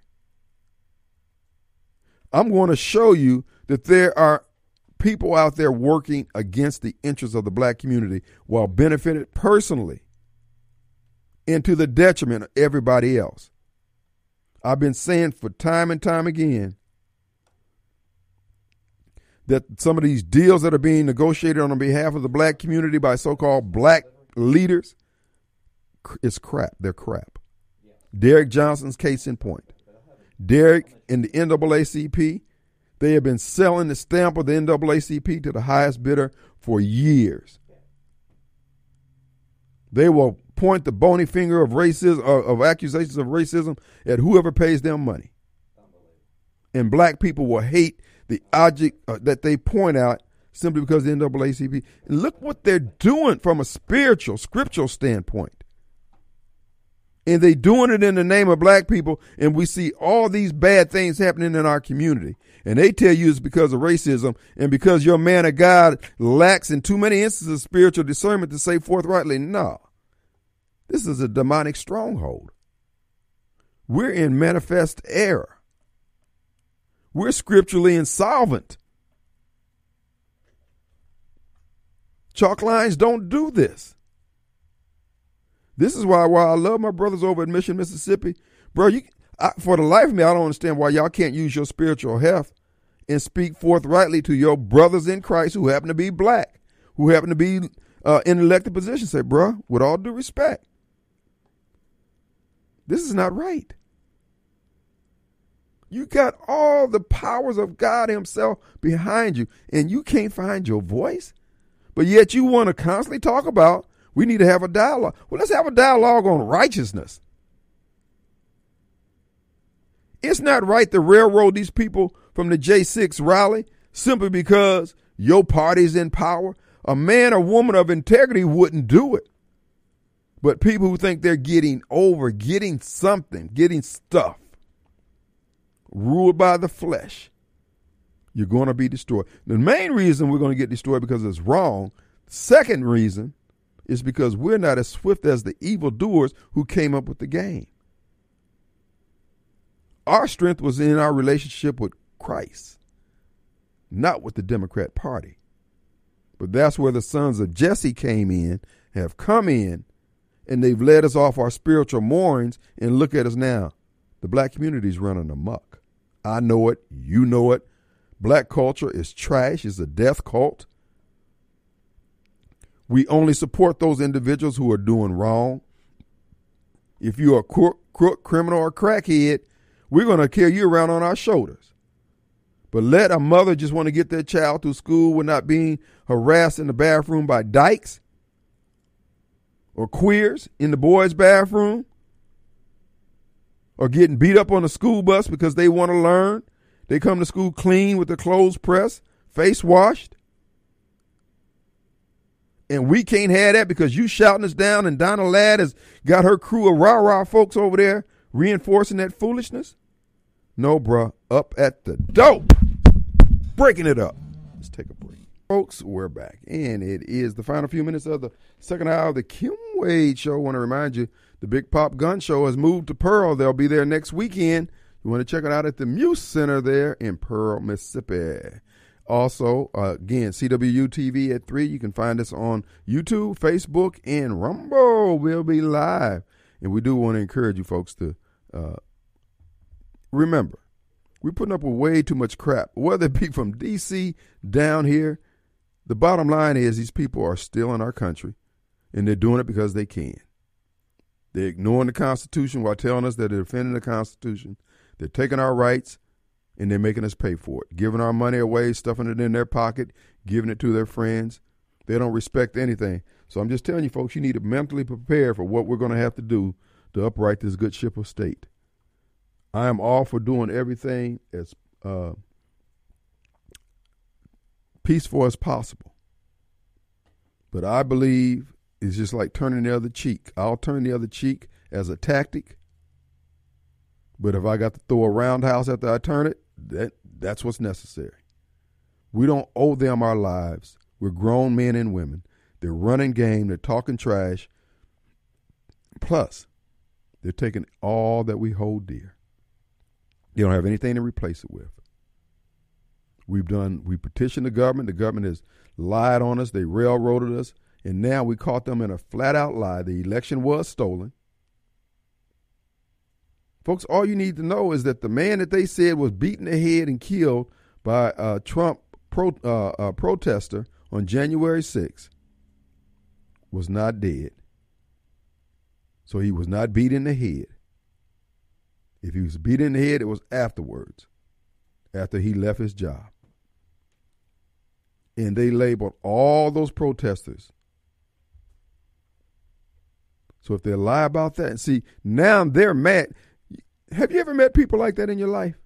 I'm going to show you that there are people out there working against the interests of the black community while benefiting personally and to the detriment of everybody else. I've been saying for time and time again that some of these deals that are being negotiated on behalf of the black community by so-called black leaders is crap. They're crap. Derek Johnson's case in point. Derek and the NAACP, they have been selling the stamp of the NAACP to the highest bidder for years. They will point the bony finger of racism, of accusations of racism at whoever pays them money. And black people will hate the object that they point out simply because the NAACP. And look what they're doing from a spiritual, scriptural standpoint. And they doing it in the name of black people, and we see all these bad things happening in our community. And they tell you it's because of racism and because your man of God lacks in too many instances of spiritual discernment to say forthrightly, no. This is a demonic stronghold. We're in manifest error. We're scripturally insolvent. Chalk lines don't do this. This is why I love my brothers over at Mission, Mississippi. Bro, for the life of me, I don't understand why y'all can't use your spiritual heft and speak forthrightly to your brothers in Christ who happen to be black, who happen to be in elected positions. Say, bro, with all due respect, this is not right. You got all the powers of God himself behind you, and you can't find your voice. But yet you want to constantly talk about, we need to have a dialogue. Well, let's have a dialogue on righteousness. It's not right to railroad these people from the J6 rally simply because your party's in power. A man or woman of integrity wouldn't do it. But people who think they're getting over, getting something, getting stuff, ruled by the flesh, you're going to be destroyed. The main reason we're going to get destroyed because it's wrong. Second reason is because we're not as swift as the evildoers who came up with the game. Our strength was in our relationship with Christ, not with the Democrat Party. But that's where the sons of Jesse have come in, and they've led us off our spiritual moorings, and look at us now. The black community is running amok. I know it. You know it. Black culture is trash. It's a death cult. We only support those individuals who are doing wrong. If you're a crook, criminal, or crackhead, we're going to carry you around on our shoulders. But let a mother just want to get their child through school without being harassed in the bathroom by dykes or queers in the boys' bathroom or getting beat up on the school bus because they want to learn. They come to school clean with their clothes pressed, face washed. And we can't have that because you shouting us down and Donna Ladd has got her crew of rah-rah folks over there reinforcing that foolishness? No, bruh. Up at the dope. Breaking it up. Let's take a break. Folks, we're back. And it is the final few minutes of the second hour of the Kim Wade Show. I want to remind you, the Big Pop Gun Show has moved to Pearl. They'll be there next weekend. You want to check it out at the Muse Center there in Pearl, Mississippi. Also, again, CWU TV at 3. You can find us on YouTube, Facebook, and Rumble. We'll be live. And we do want to encourage you folks to remember, we're putting up with way too much crap, whether it be from D.C. down here. The bottom line is these people are still in our country, and they're doing it because they can. They're ignoring the Constitution while telling us that they're defending the Constitution. They're taking our rights, and they're making us pay for it, giving our money away, stuffing it in their pocket, giving it to their friends. They don't respect anything. So I'm just telling you, folks, you need to mentally prepare for what we're going to have to do to upright this good ship of state. I am all for doing everything as peaceful as possible. But I believe it's just like turning the other cheek. I'll turn the other cheek as a tactic. But if I got to throw a roundhouse after I turn it, that's what's necessary. We don't owe them our lives. We're grown men and women. They're running game. They're talking trash. Plus, they're taking all that we hold dear. They don't have anything to replace it with. We petitioned the government. The government has lied on us. They railroaded us. And now we caught them in a flat-out lie. The election was stolen. Folks, all you need to know is that the man that they said was beaten in the head and killed by a Trump protester on January 6th was not dead. So he was not beat in the head. If he was beat in the head, it was afterwards, after he left his job. And they labeled all those protesters. So if they lie about that, and see, now they're mad. Have you ever met people like that in your life?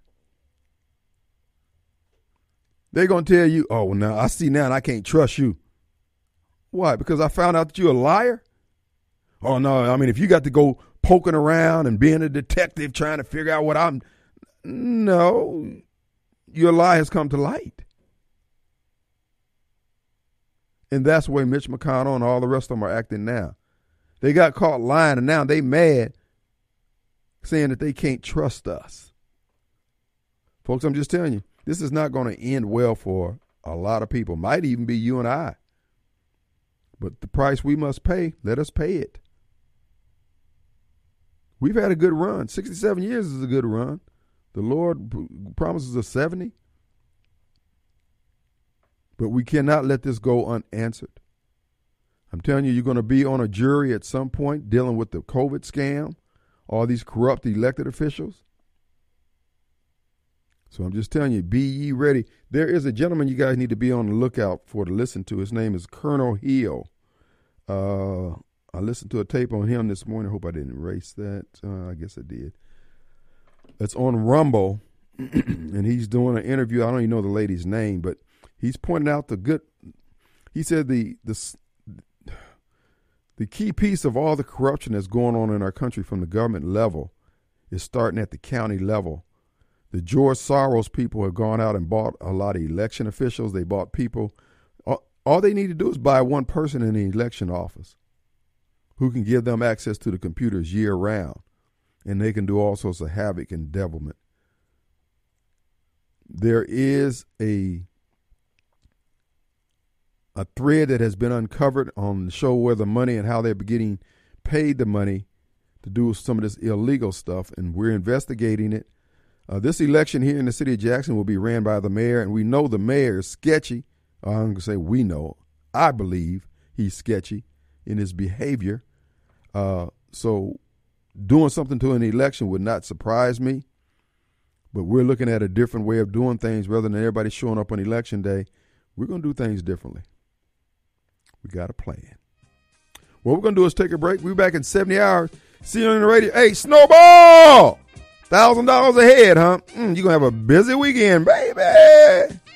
They're going to tell you, oh, well, now I see now and I can't trust you. Why? Because I found out that you're a liar? Oh, no, I mean, if you got to go poking around and being a detective trying to figure out what I'm... No, your lie has come to light. And that's the way Mitch McConnell and all the rest of them are acting now. They got caught lying, and now they mad, saying that they can't trust us. Folks, I'm just telling you, this is not going to end well for a lot of people. Might even be you and I. But the price we must pay, let us pay it. We've had a good run. 67 years is a good run. The Lord promises us 70. But we cannot let this go unanswered. I'm telling you, you're going to be on a jury at some point dealing with the COVID scam, all these corrupt elected officials. So I'm just telling you, be ye ready. There is a gentleman you guys need to be on the lookout for to listen to. His name is Colonel Hill. I listened to a tape on him this morning. I hope I didn't erase that. I guess I did. It's on Rumble, and he's doing an interview. I don't even know the lady's name, but he's pointing out he said the key piece of all the corruption that's going on in our country from the government level is starting at the county level. The George Soros people have gone out and bought a lot of election officials. They bought people. All they need to do is buy one person in the election office who can give them access to the computers year round, and they can do all sorts of havoc and devilment. There is a thread that has been uncovered on the show Where the Money and how they're getting paid the money to do some of this illegal stuff, and we're investigating it. This election here in the city of Jackson will be ran by the mayor, and we know the mayor is sketchy. I'm going to say we know. I believe he's sketchy in his behavior. So doing something to an election would not surprise me. But we're looking at a different way of doing things rather than everybody showing up on election day. We're going to do things differently. We got a plan. What we're going to do is take a break. We'll be back in 70 hours. See you on the radio. Hey, Snowball! $1,000 a head, huh? You're going to have a busy weekend, baby.